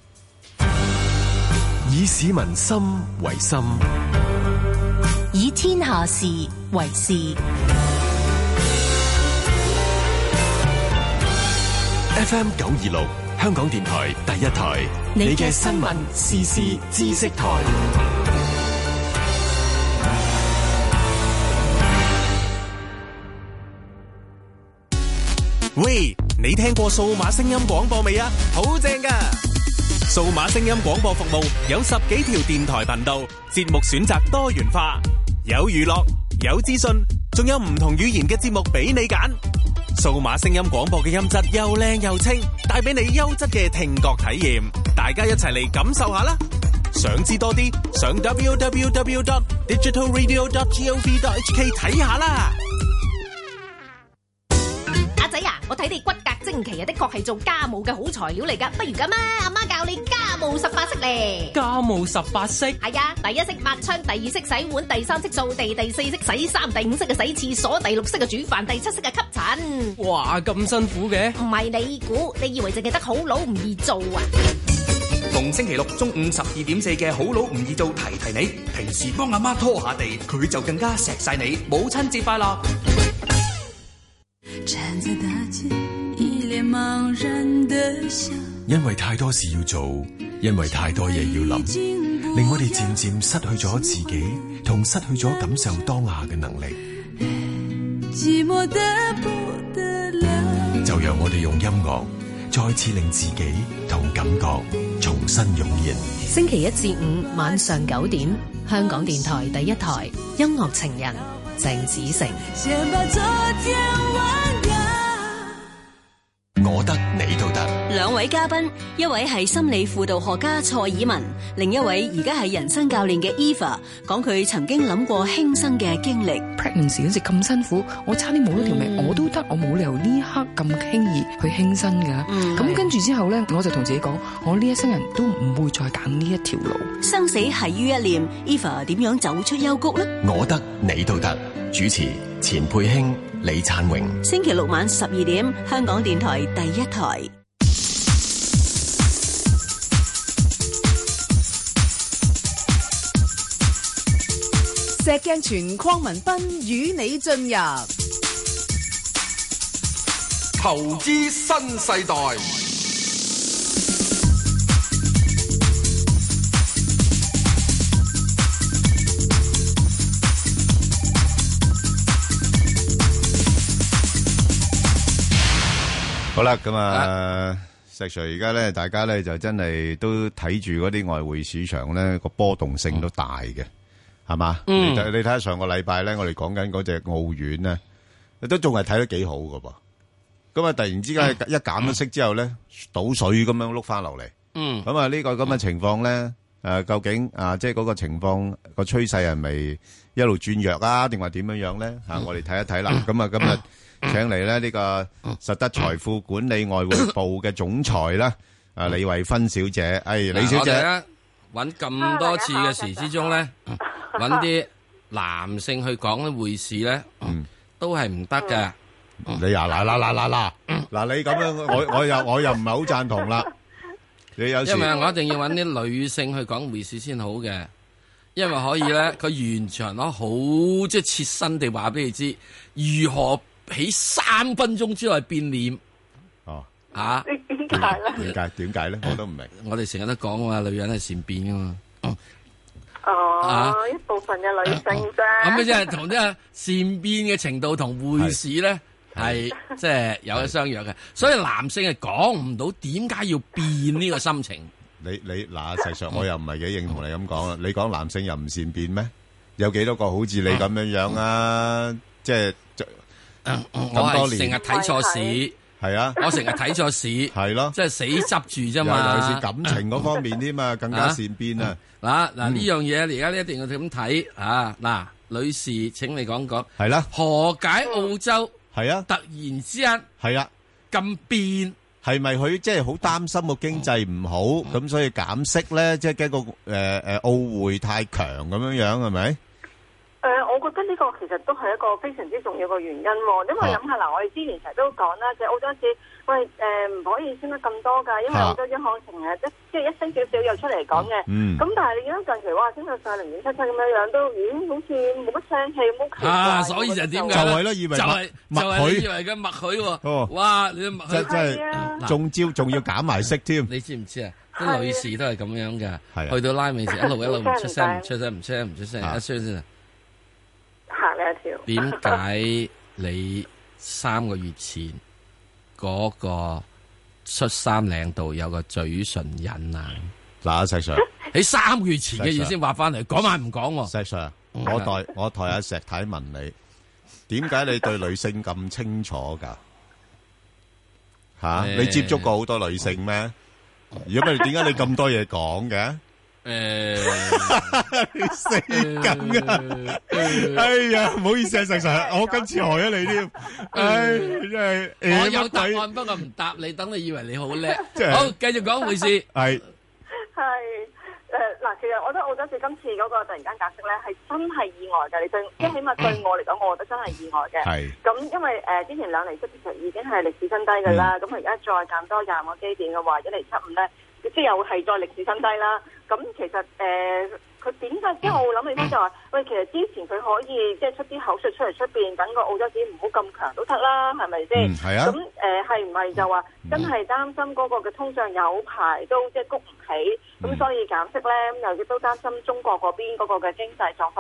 以市民心為心， 以天下事為事。 F M 九二六香港電台第一台，你嘅新聞時事知識台。 喂，你聽過數碼聲音廣播未啊？好正㗎！數碼聲音廣播服務有十幾條電台頻道，節目選擇多元化，有娛樂，有資訊，仲有唔同語言嘅節目俾你揀。數碼聲音廣播嘅音質又靚又清，帶俾你優質嘅聽覺體驗。大家一齊嚟感受下啦！想知多啲，上 w w w dot digital radio dot gov dot h k 睇下啦。 阿仔啊，我睇你骨骼精奇啊，的確係做家務嘅好材料嚟噶。不如咁啊，阿媽教你家務十八式咧。 家務十八式係啊，第一式抹窗，第二式洗碗，第三式掃地，第四式洗衫，第五式嘅洗廁所，第六式嘅煮飯，第七式嘅吸塵。 哇，咁辛苦嘅？ 唔係你估，你以為淨係得好佬唔易做啊？ 逢星期六中午十二點四嘅好佬唔易做，提提你，平時幫阿媽拖下地，佢就更加錫晒你。母親節快樂！ 站在大街一臉茫然的笑， 因為太多事要做，因為太多嘢要諗，令我哋漸漸失去咗自己，同失去咗感受當下嘅能力。 寂寞得不得了， 就讓我哋用音樂再次令自己同感覺重新湧現。 星期一至五晚上九點，香港電台第一台音樂情人鄭子誠。 我得你都得。 兩位嘉賓，一位係心理輔導學家蔡以文，另一位而家係人生教練嘅 Eva， 講佢曾經諗過輕生嘅經歷。 pregnancy 嗰時咁辛苦，我差啲冇咗條命，嗯、我都得，我冇理由呢一刻咁輕易去輕生噶。咁、嗯、跟住之後咧，我就同自己講，我呢一生人都唔會再揀呢一條路。 生死繫於一念 ，Eva 點樣走出幽谷呢？ 我得你都得。主持錢佩卿、李燦榮。 星期六晚十二點，香港電台第一台。 石鏡泉鄺民彬與你進入投資新世代。 好啦，咁啊，石 Sir 而家咧，大家咧就真係都睇住嗰啲外匯市場咧個波動性都大嘅，係嘛？嗯，你睇下上個禮拜咧，我哋講緊嗰隻澳元咧，都仲係睇得幾好噶噃。咁啊，突然之間一減咗息之後咧，倒水咁樣碌翻落嚟。嗯，咁啊呢個咁嘅情況咧，誒，究竟啊，即係嗰個情況個趨勢係咪一路轉弱啊，定話點樣樣咧？吓，我哋睇一睇啦。咁啊，今日。請嚟咧呢個實德財富管理外匯部嘅總裁啦，啊李慧芬小姐，哎李小姐， 揾咁多次嘅時之中咧，揾啲男性去講啲匯市咧，都係唔得嘅。 你呀嗱嗱嗱嗱嗱，嗱你咁樣，我我又我又唔係好贊同啦。你有時因為我一定要揾啲女性去講匯市先好嘅，因為可以咧，佢完全攞好即係切身地話俾你知如何。喺三分鐘之內變臉哦， 吓點解咧？ 點解點解咧？我都唔明。 我哋成日都講啊，女人係善變噶嘛。 哦，啊、一部分嘅女性啫。 咁即係同啲善變嘅程度同匯市咧係即係有得相約嘅。所以男性係講唔到點解要變呢個心情。 你你嗱，實際上我又唔係幾認同你咁講啦。你講男性又唔善變咩？有幾多個好似你咁樣樣啊？嗯、即係。 嗯、我係成日睇錯市， 係啊， 我成日睇錯市，係咯，即係死執住啫嘛。 尤其是感情嗰方面添嘛，更加善變啊！ 嗱嗱呢樣嘢，而家呢一定要咁睇啊！嗱，女士，請你講講， 係啦， 何解澳洲係啊？ 突然之間係啊咁變， 係咪佢即係好擔心個經濟唔好，咁所以減息咧？即係驚個誒誒澳匯太強咁樣樣係咪？ 誒、呃，我覺得呢個其實都係一個非常之重要嘅原因喎，因為諗下嗱，我哋之前成日都講啦，即係澳洲市，喂誒唔、呃、可以升得咁多㗎，因為澳洲央行成日即即係一升少少又出嚟講嘅，咁、嗯、但係你見到近期哇升到上零點七七咁樣樣，都已經好似冇乜聲氣，冇奇怪。 啊，所以就點解就係咯，以為就係默就係以為嘅默許喎。哦，哇！你默許即係中招，仲要減埋息添。 你知唔知啊？啲女士都係咁樣嘅，去到拉尾時一路一路唔出聲，唔出聲，唔出聲，唔出聲，一出先啊！ 行呢一條。 點解你三個月前嗰個恤衫領度有個嘴唇印啊？ 嗱，石 Sir， 你三個月前嘅嘢先話翻嚟，講埋唔講？ 石 Sir，我代我代阿石太問你，點解你對女性咁清楚噶？吓，你接觸過好多女性咩？如果唔係，點解你咁多嘢講嘅？誒，死梗啊！哎呀，唔好意思啊，石 Sir，我今次害咗你添。唉，真係我有答案，不過唔答你，等你以為你好叻。好，繼續講回事。 係係誒嗱，其實我覺得澳洲市今次嗰個突然間減息咧，係真係意外嘅。你對，即係起碼對我嚟講，我覺得真係意外嘅。係咁，因為誒之前兩厘息其實已經係歷史新低㗎啦。咁而家再減多廿個基點嘅話，一厘七五咧，即係又係再歷史新低啦。咁其實誒，佢點解？即係我諗起翻就話，喂，其實之前佢可以即係出啲口述出嚟出邊，等個澳洲紙唔好咁強都得啦，係咪先？係啊。咁誒係唔係就話真係擔心嗰個嘅通脹有排都即係谷唔起，咁所以減息咧？咁又亦都擔心中國嗰邊嗰個嘅經濟狀況，即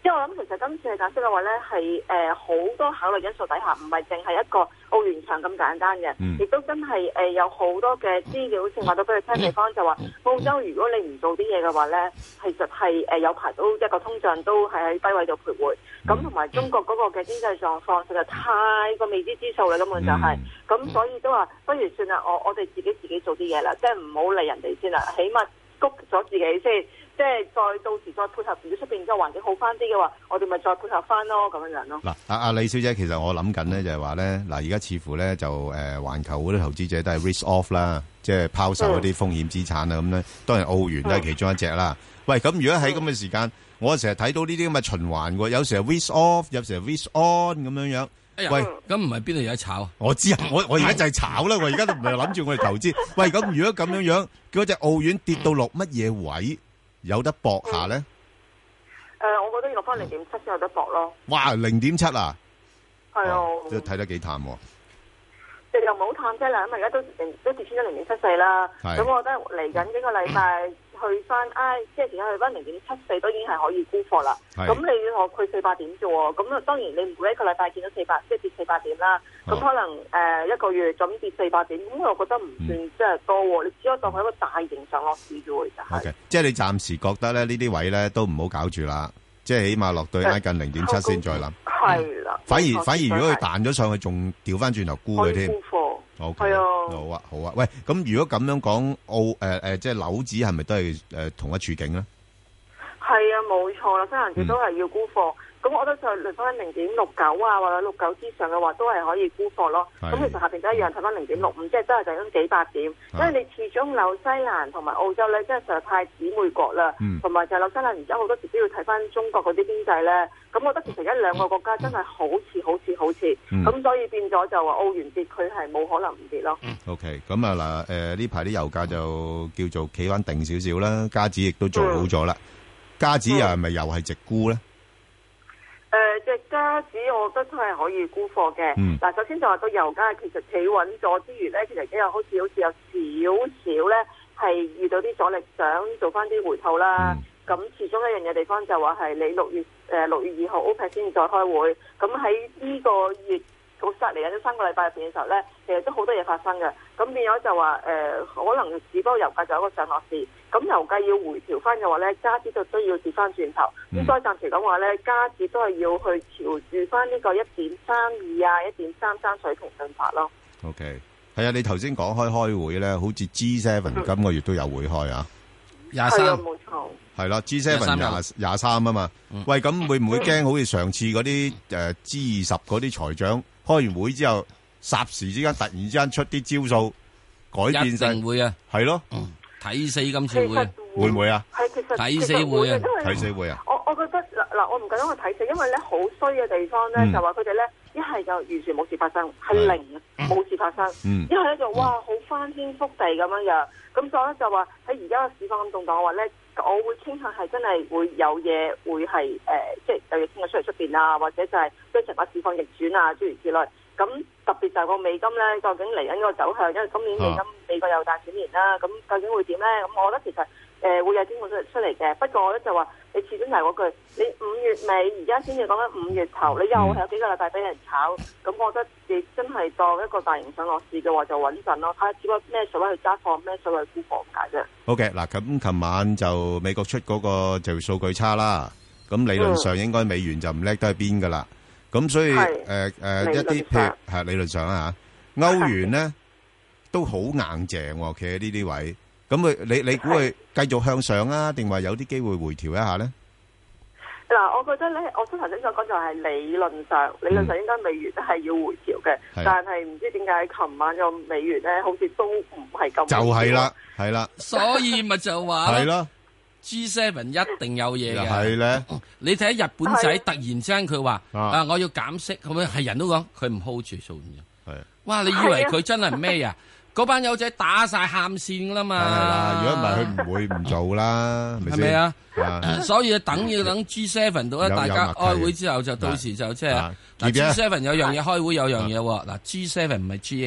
即係我諗其實今次嘅解釋嘅話咧，係誒好多考慮因素底下，唔係淨係一個澳元場咁簡單嘅，亦、嗯、都真係誒、呃、有好多嘅資料，好似話到俾佢聽地方就話，澳洲如果你唔做啲嘢嘅話咧，其實係誒有排到一個通脹都係喺低位度徘徊。咁同埋中國嗰個嘅經濟狀況實在太過未知之數啦，根本就係、是、咁，嗯、所以都話不如算啦，我我哋自己自己做啲嘢啦，即係唔好理人哋先啦，起碼谷咗自己先。即係再到時再配合，如果出邊嘅環境好翻啲嘅話，我哋咪再配合翻咯，咁樣樣咯。 嗱，阿阿李小姐，其實我諗緊咧就係話咧，嗱而家似乎咧就誒環球嗰啲投資者都係 risk off 啦，即係拋售嗰啲風險資產啊咁咧。當然澳元都係其中一隻啦。喂，咁如果喺咁嘅時間，我成日睇到呢啲咁嘅循環喎，有時係 risk off，有時係 risk on 咁樣樣。 喂，咁唔係邊度有得炒？ 我知啊，我我而家就係炒啦，我而家都唔係諗住我哋投資。喂，咁如果咁樣樣，嗰隻澳元跌到落乜嘢位？有得搏下咧？誒、 呃，我覺得要落翻零點七先有得搏咯。 哇，零點七啊！ 係啊， 即係睇得幾淡喎。 即係又唔好淡啫啦，因為而家都都跌穿咗零點七四啦。咁我覺得嚟緊幾個禮拜去翻，唉，即係而家去翻零點七四都已經係可以沽貨啦。咁你要學佢四百點啫喎，咁啊當然你唔會一個禮拜見到四百，即係跌四百點啦。咁、哦、可能誒、呃、一個月咁跌四百點，咁我覺得唔算即係多喎。嗯、你只可以當佢一個大型上落市啫喎，就係、是。Okay. 即係你暫時覺得咧呢啲位咧都唔好搞住啦，即係起碼落對挨近零點七先再諗。 係啦。 反而反而如果佢彈咗上去，仲調翻轉頭沽佢添。沽貨。O K。係啊。好啊好啊，喂，咁如果咁樣講澳誒誒、呃，即係樓指係咪都係誒、呃、同一處境咧？ 係啊，冇錯啦，西蘭紙都係要沽貨。咁、嗯、我覺得就嚟翻零點六九啊，或者六九之上嘅話，都係可以沽貨咯。咁其實下邊都一樣，睇翻零點六五，即係都係就咁幾百點。因為你始終紐西蘭同埋澳洲咧，真係實在太姊妹國啦。同埋、嗯、就係紐西蘭，而家好多時都要睇翻中國嗰啲經濟咧。咁我覺得其實而家兩個國家真係好似好似好似。咁、嗯、所以變咗就話澳元跌，佢係冇可能唔跌咯。O K， 咁啊嗱，誒呢排啲油價就叫做企穩定少少啦，加指亦都做好咗啦。加指又係咪又係直沽咧？ 誒、呃，隻加指我覺得都係可以沽貨嘅。嗱、嗯，首先就話個油價其實企穩咗之餘咧，其實今日好似好似有少少咧係遇到啲阻力，想做翻啲回吐啦。咁、嗯、其中一樣嘢地方就話係你六月誒六、呃、月二號 OPEC 先至再開會，咁喺呢個月到失嚟緊呢三個禮拜入邊嘅時候咧，其實都好多嘢發生嘅。咁變咗就話誒、呃，可能只不過油價就有一個上落市。咁油價要回調翻嘅話咧，加指就需要跌翻轉頭。咁所以暫時講話咧，加指都係要去調住翻呢個一點三二啊、一點三三水平進發咯。 OK，係啊，你頭先講開開會咧，好似 G 七、嗯、今個月都有會開啊， 廿三冇錯。 係啦 ，G 七 廿廿三啊嘛。嗯、喂，咁會唔會驚好似上次嗰啲誒 G 二十嗰啲財長開完會之後，霎時之間突然之間出啲招數改變晒？ 一定會啊， 係咯。 嗯睇死今次會會唔會啊？ 係其實睇死會啊！ 睇死會啊！ 我我覺得嗱嗱，我唔敢講去睇死，因為咧好衰嘅地方咧，嗯、就話佢哋咧一係就完全冇事發生，係零冇事發生；一係咧就哇好翻天覆地咁樣樣。咁所以咧就話喺而家嘅市況咁動盪嘅話咧，我會傾向係真係會有嘢會係誒、呃，即係有嘢傾咗出嚟出邊啊，或者就係即係成個市況逆轉啊，諸如此類。咁特別就係個美金咧，究竟嚟緊個走向，因為今年美金、啊、美國又大選年啦，咁究竟會點咧？咁我覺得其實誒、呃、會有機會出出嚟嘅。不過我咧就話，你始終係嗰句，你五月尾而家先至講緊五月頭，你又係有幾個禮拜俾人炒，咁、嗯、我覺得你真係當一個大型上落市嘅話就穩陣咯，睇下只不過咩水位去揸貨，咩水位去沽貨咁解啫。 好嘅，嗱咁琴晚就美國出嗰個就數據差啦，咁理論上應該美元就唔叻得去邊噶啦。咁所以誒誒、呃呃、一啲譬如係理論上啊嚇，歐元咧都好硬淨喎，企喺呢啲位。咁佢你你估佢繼續向上啊，定話有啲機會回調一下咧？ 嗱，我覺得咧，我先頭先所講就係理論上，理論上應該美元都係要回調嘅，嗯、但係唔知點解琴晚個美元咧好似都唔係咁。就係啦，係啦， 所以咪就話係咯。 G 七 一定有嘢嘅， 係咧。 你睇下日本仔突然之間佢話啊，我要減息，咁樣係人都講佢唔 hold 住數嘅。係，哇！你以為佢真係咩啊？嗰班友仔打晒喊線噶啦嘛。係啦，如果唔係佢唔會唔做啦，係咪啊？所以等要等 G 七 到咧，大家開會之後就到時就即係嗱 G 七 有樣嘢開會有樣嘢喎。嗱 G 七唔係 G 八喎。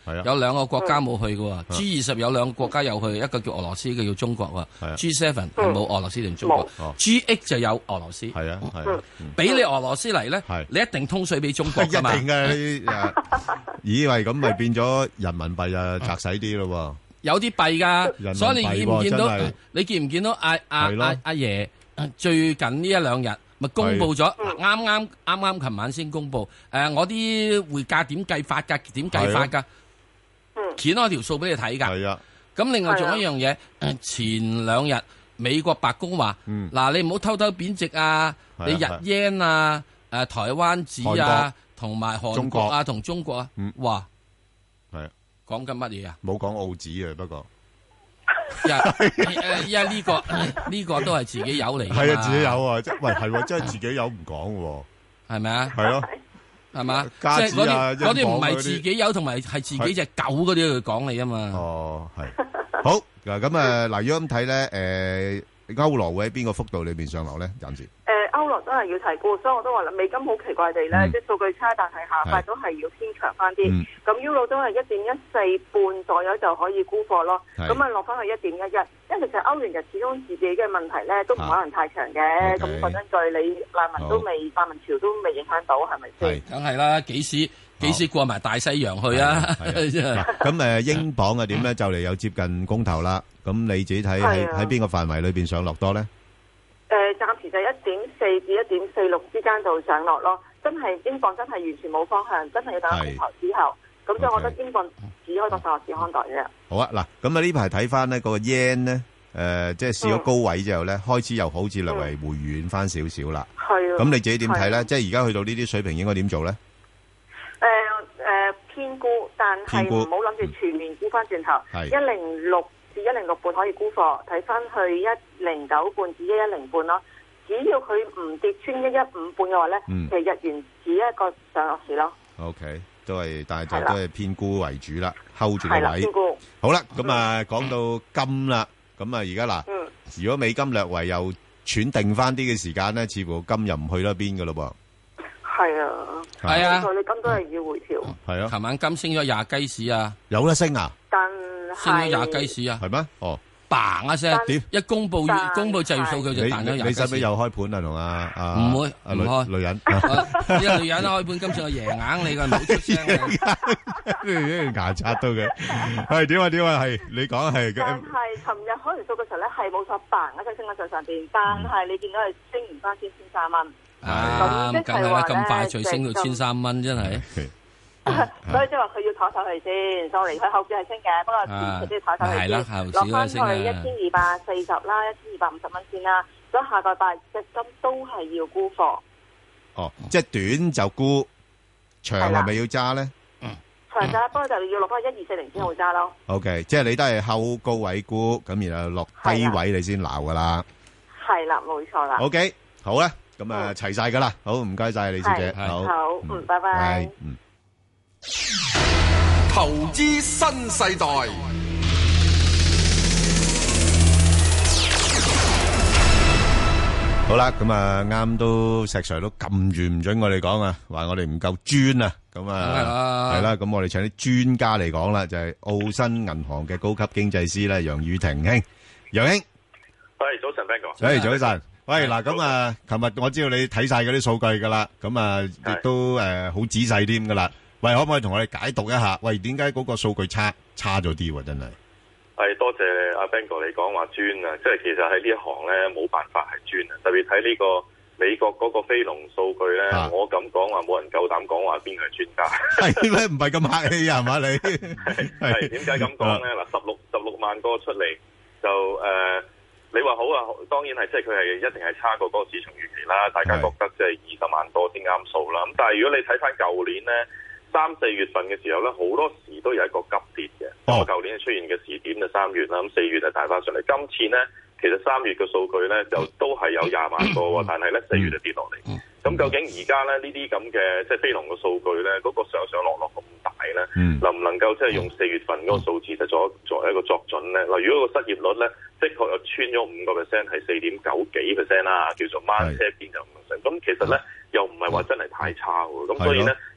有兩個國家冇去嘅喎。G 二十有兩個國家有去，一個叫俄羅斯，一個叫中國喎。G 七係冇俄羅斯定中國。G eight 就有俄羅斯。 係啊係啊， 俾你俄羅斯嚟咧，你一定通水俾中國㗎嘛。 一定嘅。以為咁咪變咗人民幣啊，窄使啲咯喎。 有啲弊㗎，所以你見唔見到？你見唔見到阿阿阿阿爺最近呢一兩日咪公佈咗？啱啱啱啱琴晚先公佈。誒，我啲匯價點計法㗎？點計法㗎？掀開條數俾你睇㗎。係啊。咁另外仲有一樣嘢，前兩日美國白宮話：嗱，你唔好偷偷貶值啊！你日 yen 啊，誒台灣紙啊，同埋韓國啊，同中國啊，哇！ 係啊。 講緊乜嘢啊？ 冇講澳紙啊，不過， 因為呢個呢個都係自己有嚟。 係啊，自己有啊，即係喂係，真係自己有唔講嘅， 係咪啊？ 係咯， 係嘛？即係嗰啲嗰啲唔係自己有，同埋係自己隻狗嗰啲去講你啊嘛。 哦，係好嗱，咁啊嗱，如果咁睇咧，誒，歐羅會喺邊個幅度裏邊上落咧？暫時。 歐羅都係要提高，所以我都話啦，美金好奇怪地咧，即係數據差，但係下塊都係要偏強翻啲。咁 Euro 都係一點一四半左右就可以沽貨咯。咁啊落翻去一點一一，因為其實歐元就始終自己嘅問題咧，都唔可能太長嘅。咁講真句，你難民都未，難民潮都未影響到，係咪先？ 梗係啦，幾時幾時過埋大西洋去啊？ 咁誒，英鎊啊點咧？就嚟有接近公投啦。咁你自己睇喺喺邊個範圍裏邊上落多咧？ 誒、呃，暫時就一點四至一點四六之間度上落咯，真係英鎊真係完全冇方向，真係要等公投之後，咁所以我覺得英鎊只可以當上落市看待嘅。好啊，嗱， 咁啊呢排睇翻呢嗰個 yen 咧，誒，即係試咗高位之後咧，開始又好似略為回軟翻少少啦。係啊。咁你自己點睇咧？即係而家去到呢啲水平，應該點做咧？ 誒誒，偏沽，但係唔好諗住全面沽翻轉頭，一零六。一零六半可以沽貨，睇翻去一零九半至一一零半咯。只要佢唔跌穿一一五半嘅話咧，嗯、其實日元只一個上落市咯。 O、okay, K， 都係，但係就都係偏沽為主啦 ，hold 住個位。 偏沽。 好啦，咁啊講到金啦，咁啊而家嗱，嗯、如果美金略為又喘定翻啲嘅時間咧，似乎金又唔去得邊噶咯噃。係啊， 係啊， 你金都係要回調。 係啊， 琴晚金升咗廿雞市啊， 有得升啊？ 但升咗廿雞市啊？ 係咩？哦， 嘭一聲，點一公布公布就業數據就彈咗廿雞市。 你使唔使又開盤啊？同阿阿唔會唔開女人， 呢個女人開盤，今次我贏硬你㗎，唔好出聲。 牙刷到嘅，係點啊點啊？係你講係。 但係尋日開完數嘅時候咧，係冇錯嘭一聲升咗上上邊，但係你見到係升唔翻先千三蚊。 啊，梗係啦，咁快脆升到千三蚊，真係。 所以即係話佢要抬手去先，sorry，佢後市係升嘅，不過前期都要抬手去先，落翻去一千二百四十啦，一千二百五十蚊先啦。所以下個禮拜隻金都係要沽貨。 哦，即係短就沽，長係咪要揸咧？ 嗯，長揸，不過就要落翻一二四零先好揸咯。 O K， 即係你都係後高位沽，咁然後落低位你先鬧噶啦。係啦，冇錯啦。O K，好啦，咁啊齊晒噶啦，好唔該晒李小姐，好， 好，嗯，拜拜， 嗯。 投資新世代， 好啦，咁啊啱都石 Sir 都撳住唔准我哋講啊，話我哋唔夠專啊，咁啊係啦，咁我哋請啲專家嚟講啦，就係澳新銀行嘅高級經濟師咧，楊宇霆兄，楊兄， 喂，早晨 Ben 哥， 誒，早晨，喂，嗱，咁啊，琴日我知道你睇晒嗰啲數據噶啦，咁啊，亦都誒好仔細添噶啦。喂，可唔可以同我哋解讀一下？喂，點解嗰個數據差差咗啲喎？真係係多謝阿 Ben 哥你講話專啊，即係其實喺呢一行咧冇辦法係專啊，特別睇呢個美國嗰個非農數據咧，啊、我咁講話冇人夠膽講話邊個係專家， 係咩？唔係咁客氣啊，係嘛你？ 係點解咁講咧？嗱，十六十六萬個出嚟就誒、呃，你話好啊，當然係即係佢係一定係差過嗰個市場預期啦，大家覺得即係二十萬多先啱數啦。咁但係如果你睇翻舊年咧。三四月份嘅時候咧，好多時都有一個急跌嘅。咁啊、哦，舊年出現嘅時點就三月啦，咁四月就大翻上嚟。今次咧，其實三月嘅數據咧就都係有廿萬個喎，但係咧四月就跌落嚟。咁、嗯、究竟而家咧呢啲咁嘅即係非農嘅數據咧，嗰、那個上上落落咁大咧，嗯、能唔能夠即係用四月份嗰個數字就作作為一個作準咧？嗱，如果個失業率咧，的確又穿咗五個 percent，係四點九幾 percent 啦，叫做掹車邊就五 percent。咁其實咧又唔係話真係太差喎。咁所以咧。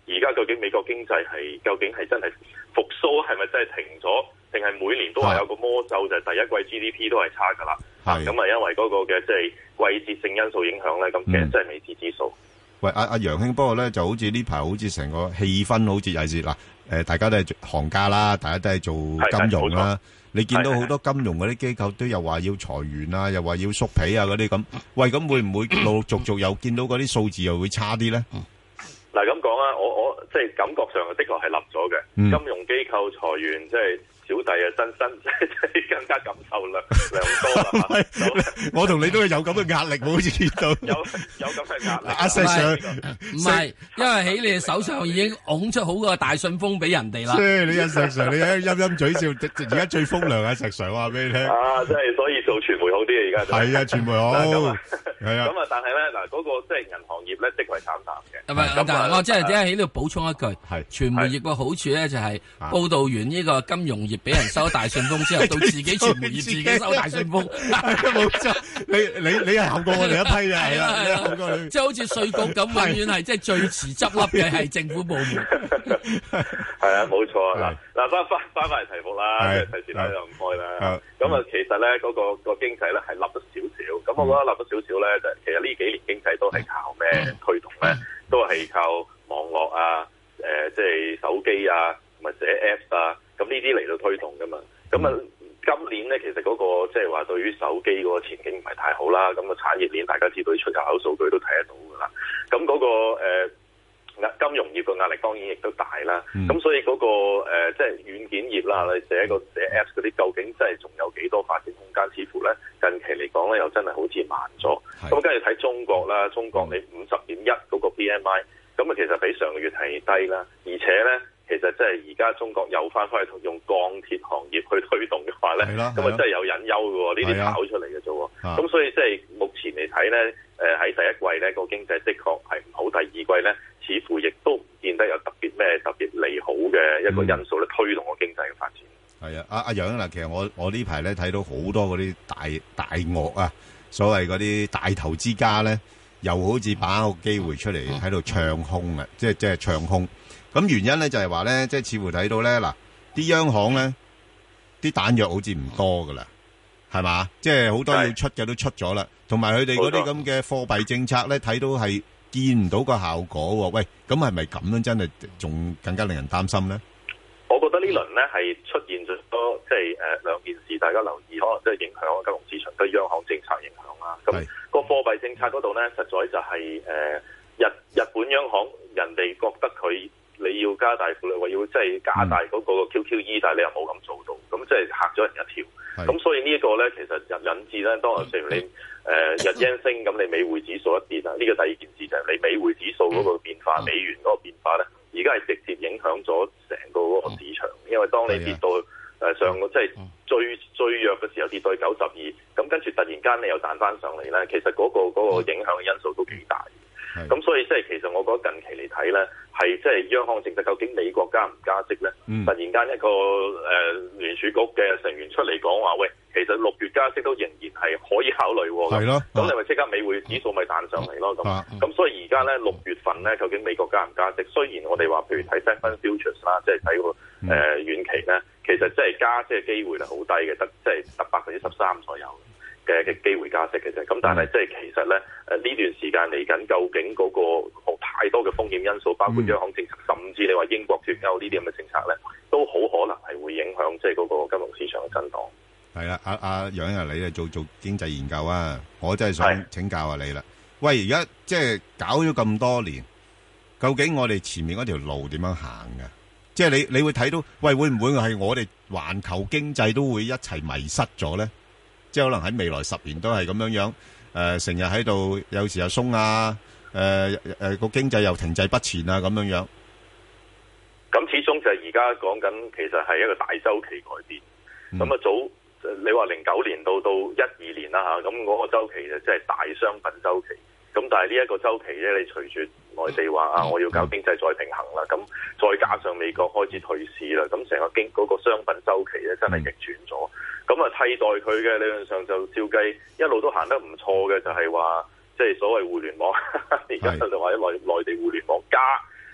而家究竟美國經濟係究竟係真係復甦，係咪真係停咗，定係每年都話有個魔咒就係第一季 G D P 都係差㗎啦？咁啊，因為嗰個嘅即係季節性因素影響咧，咁其實真係未知之數。 喂，阿阿楊兄，不過咧就好似呢排好似成個氣氛好似尤其是嗱，誒大家都係行家啦，大家都係做金融啦。你見到好多金融嗰啲機構都又話要裁員啊，又話要縮皮啊嗰啲咁。喂，咁會唔會陸陸續續又見到嗰啲數字又會差啲咧？ 嗱咁講啊，我我即係感覺上的確係立咗嘅。 嗯、 金融機構裁員，即係小弟啊，真真即係更加感受良良多啦。 我同你都係有咁嘅壓力，好似見到有有咁嘅壓力。 阿 Sir 唔係，因為喺你哋手上已經拱出好個大信封俾人哋啦。 即係你阿石 Sir， 你喺陰陰嘴笑，而家最風涼啊！石 Sir 話俾你聽。 啊，即係所以做傳媒好啲啊！而家係啊，傳媒好。係啊。 咁啊，但係咧嗱，嗰個即係銀行業咧，的確係慘淡嘅。 係咪？但係我即係只係喺度補充一句，係傳媒業嘅好處咧，就係報導完呢個金融業俾人收大信封之後，到自己傳媒業自己收大信封。 冇錯，你你你係後過我哋一批嘅，係啦，係啊， 即係好似稅局咁，永遠係即係最遲執笠嘅係政府部門。 係啊，冇錯啊！嗱嗱，翻翻翻翻嚟題目啦，即係提示大家又唔開啦。咁啊，其實咧嗰個個經濟咧係立咗少少。咁我覺得立咗少少咧，就其實呢幾年經濟都係靠咩推動咧？都係靠網絡啊，誒，即係手機啊，同埋寫 Apps 啊，咁呢啲嚟到推動噶嘛。咁啊，今年咧其實嗰個即係話對於手機嗰個前景唔係太好啦。咁個產業鏈大家知道出入口數據都睇得到噶啦。咁嗰個誒金融業嘅壓力當然亦都大啦。咁所以嗰個誒即係軟件業啦，你寫個寫 Apps 嗰啲，究竟真係仲有幾多發展空間？似乎咧近期嚟講咧，又真係好似慢咗。咁跟住睇中國啦，中國你五十點一嗰個 P M I， 咁啊其實比上個月係低啦，而且咧其實即係而家中國又翻返去用鋼鐵行業去推動嘅話咧，咁啊真係有隱憂嘅喎，呢啲炒出嚟嘅啫喎。咁所以即係目前嚟睇咧，誒喺第一季咧個經濟的確係唔好，第二季咧似乎亦都唔見得有特別咩特別利好嘅一個因素咧推動個經濟嘅發展。 係啊，阿阿楊嗱，其實我我呢排咧睇到好多嗰啲大大鱷啊，所謂嗰啲大投資家咧，又好似把握個機會出嚟喺度唱空啊，即係即係唱空。咁原因咧就係話咧，即係似乎睇到咧嗱，啲央行咧啲彈藥好似唔多噶啦，係嘛？即係好多要出嘅都出咗啦，同埋佢哋嗰啲咁嘅貨幣政策咧，睇到係見唔到個效果喎。喂，咁係咪咁樣真係仲更加令人擔心咧？ 我覺得呢輪咧係出現咗多即係誒兩件事，大家留意，可能即係影響金融市場對央行政策影響啦。咁個貨幣政策嗰度咧，實在就係、是、誒、呃、日日本央行人哋覺得佢你要加大負利，話要即係加大嗰個 Q Q E，、嗯、但係你又冇咁做到，咁即係嚇咗人一跳。咁所以呢一個咧，其實引引致咧，當譬如你誒、呃、日元升，咁你美匯指數一跌啊，呢、這個第二件事就係你美匯指數嗰個變化，嗯、美元嗰個變化咧。而家係直接影響咗成個嗰個市場，因為當你跌到誒、呃、上個即係最最弱嘅時候跌到去九十二，咁跟住突然間你又彈翻上嚟咧，其實嗰、嗰個嗰個影響嘅因素都幾大。咁所以即係其實我覺得近期嚟睇咧，係即係央行政策究竟美國加唔加息咧？嗯、突然間一個誒、呃、聯儲局嘅成員出嚟講話，喂，其實六月加息都仍然係可以考慮喎。係咯，咁你咪即刻美匯指數咪彈上嚟咯？咁咁、啊啊、所以而家咧六月份咧，究竟美國加唔加息？雖然我哋話譬如睇 seven futures 啦，即係睇個誒遠期咧，其實即係加息嘅機會係好低嘅，得即係得百分之十三左右嘅嘅機會加息嘅啫，咁但係即係其實咧，誒呢段時間嚟緊，究竟嗰個太多嘅風險因素，包括央行政策，嗯、甚至你話英國脫歐呢啲咁嘅政策咧，都好可能係會影響即係嗰個金融市場嘅震盪。 係啦，阿阿楊啊，你啊做做經濟研究啊，我真係想請教下你啦。喂，而家即係搞咗咁多年，究竟我哋前面嗰條路點樣行㗎？即係你你會睇到，喂，會唔會係我哋環球經濟都會一齊迷失咗咧？即係可能喺未來十年都係咁樣樣，誒成日喺度有時又鬆啊，誒誒個經濟又停滯不前啊咁樣樣。 咁始終就係而家講緊，其實係一個大周期改變。咁啊、嗯、早你話零九年到到一二年啦嚇，咁嗰個週期就即係大商品週期。咁但係呢一個週期咧，你隨住內地話啊，我要搞經濟再平衡啦，咁再加上美國開始退市啦，咁成個經嗰個商品週期咧真係逆轉咗。咁啊，替代佢嘅理論上就照計一路都行得唔錯嘅，就係話即係所謂互聯網，而家就話喺內內地互聯網加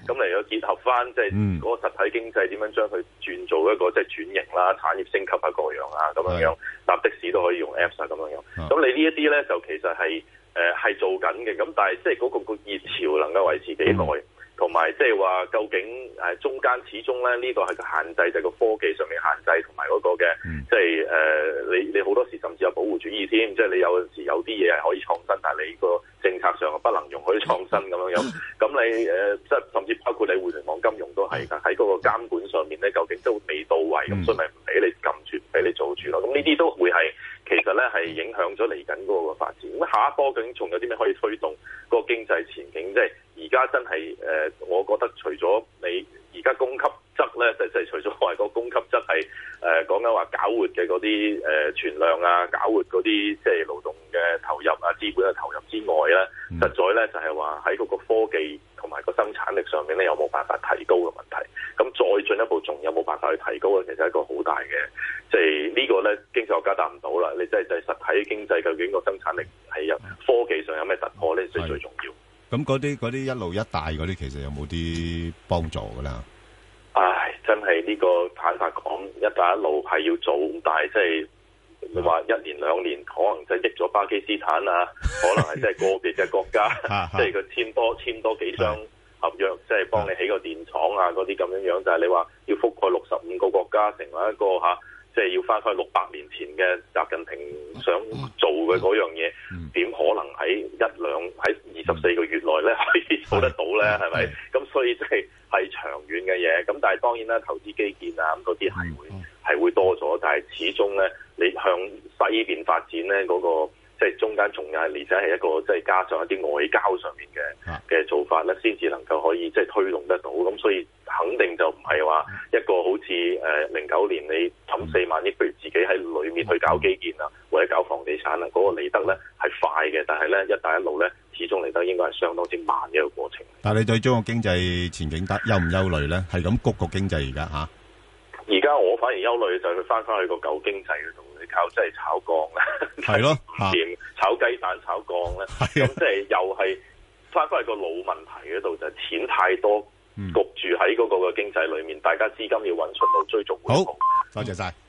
咁嚟到結合翻即係嗰個實體經濟點樣將佢轉做一個即係轉型啦、產業升級啊各樣啊咁樣樣，搭的士都可以用 Apps 啊咁樣樣。咁你呢一啲咧就其實係誒係做緊嘅，咁但係即係嗰個個熱潮能夠維持幾耐？嗯同埋即係話，究竟誒中間始終咧呢個係個限制，就係個科技上面限制，同埋嗰個嘅即係誒你你好多時甚至有保護主義添，即係你有陣時有啲嘢係可以創新，但係你個政策上不能容許創新咁樣樣。咁你誒即係甚至包括你互聯網金融都係㗎，喺嗰個監管上面咧，究竟都未到位，咁所以咪唔俾你撳住，唔俾你做住咯。咁呢啲都會係其實咧係影響咗嚟緊嗰個發展。咁下一波究竟仲有啲咩可以推動嗰個經濟前景？即係而家真係誒、呃，我覺得除咗你而家供給側咧，就就係除咗話個供給側係誒講緊話搞活嘅嗰啲誒存量啊，搞活嗰啲即係勞動嘅投入啊、資本嘅投入之外咧，嗯、實在咧就係話喺嗰個科技同埋個生產力上面咧，有冇辦法提高嘅問題？咁再進一步，仲有冇辦法去提高咧？其實係一個好大嘅，即係呢個咧經濟學家答唔到啦。你即係就係實體經濟究竟個生產力係有科技上有咩突破咧？最最重要。咁嗰啲嗰啲一路一帶嗰啲，其實有冇啲幫助㗎啦？唉，真係呢個坦白講，一帶一路係要做，但係即係你話一年兩年，可能就益咗巴基斯坦啊，可能係即係個別嘅國家，即係佢簽多簽多幾張合約，即係幫你起個電廠啊嗰啲咁樣樣。但係你話要覆蓋六十五個國家，成為一個嚇。即係要翻返六百年前嘅習近平想做嘅嗰樣嘢，點、嗯、可能喺一兩喺二十四個月內咧可以做得到咧？係咪？咁所以即係係長遠嘅嘢。咁但係當然啦，投資基建啊咁嗰啲係會係、嗯、會多咗，但係始終咧你向西邊發展咧嗰、嗰個即係中間仲有而且係一個即係加上一啲外交上面嘅嘅做法咧，先至能夠可以即係推動得到。咁所以肯定就唔係話一個好似誒零九年你抌四萬億，譬如自己喺裏面去搞基建啊，或者搞房地產啊，嗰、嗰個嚟得咧係快嘅，但係咧一帶一路咧始終嚟得應該係相當之慢嘅一個過程。但係你對中國經濟前景得憂唔憂慮咧？係咁谷個經濟而家嚇？而家我反而憂慮就係佢翻返去個舊經濟嗰度，你靠即係炒鋼咧，係咯，掂炒雞蛋、炒鋼咧，咁即係又係翻返去個老問題嗰度，就係、錢太多。焗住喺嗰個嘅經濟裏面，大家資金要揾出路追逐回報。好，多謝晒。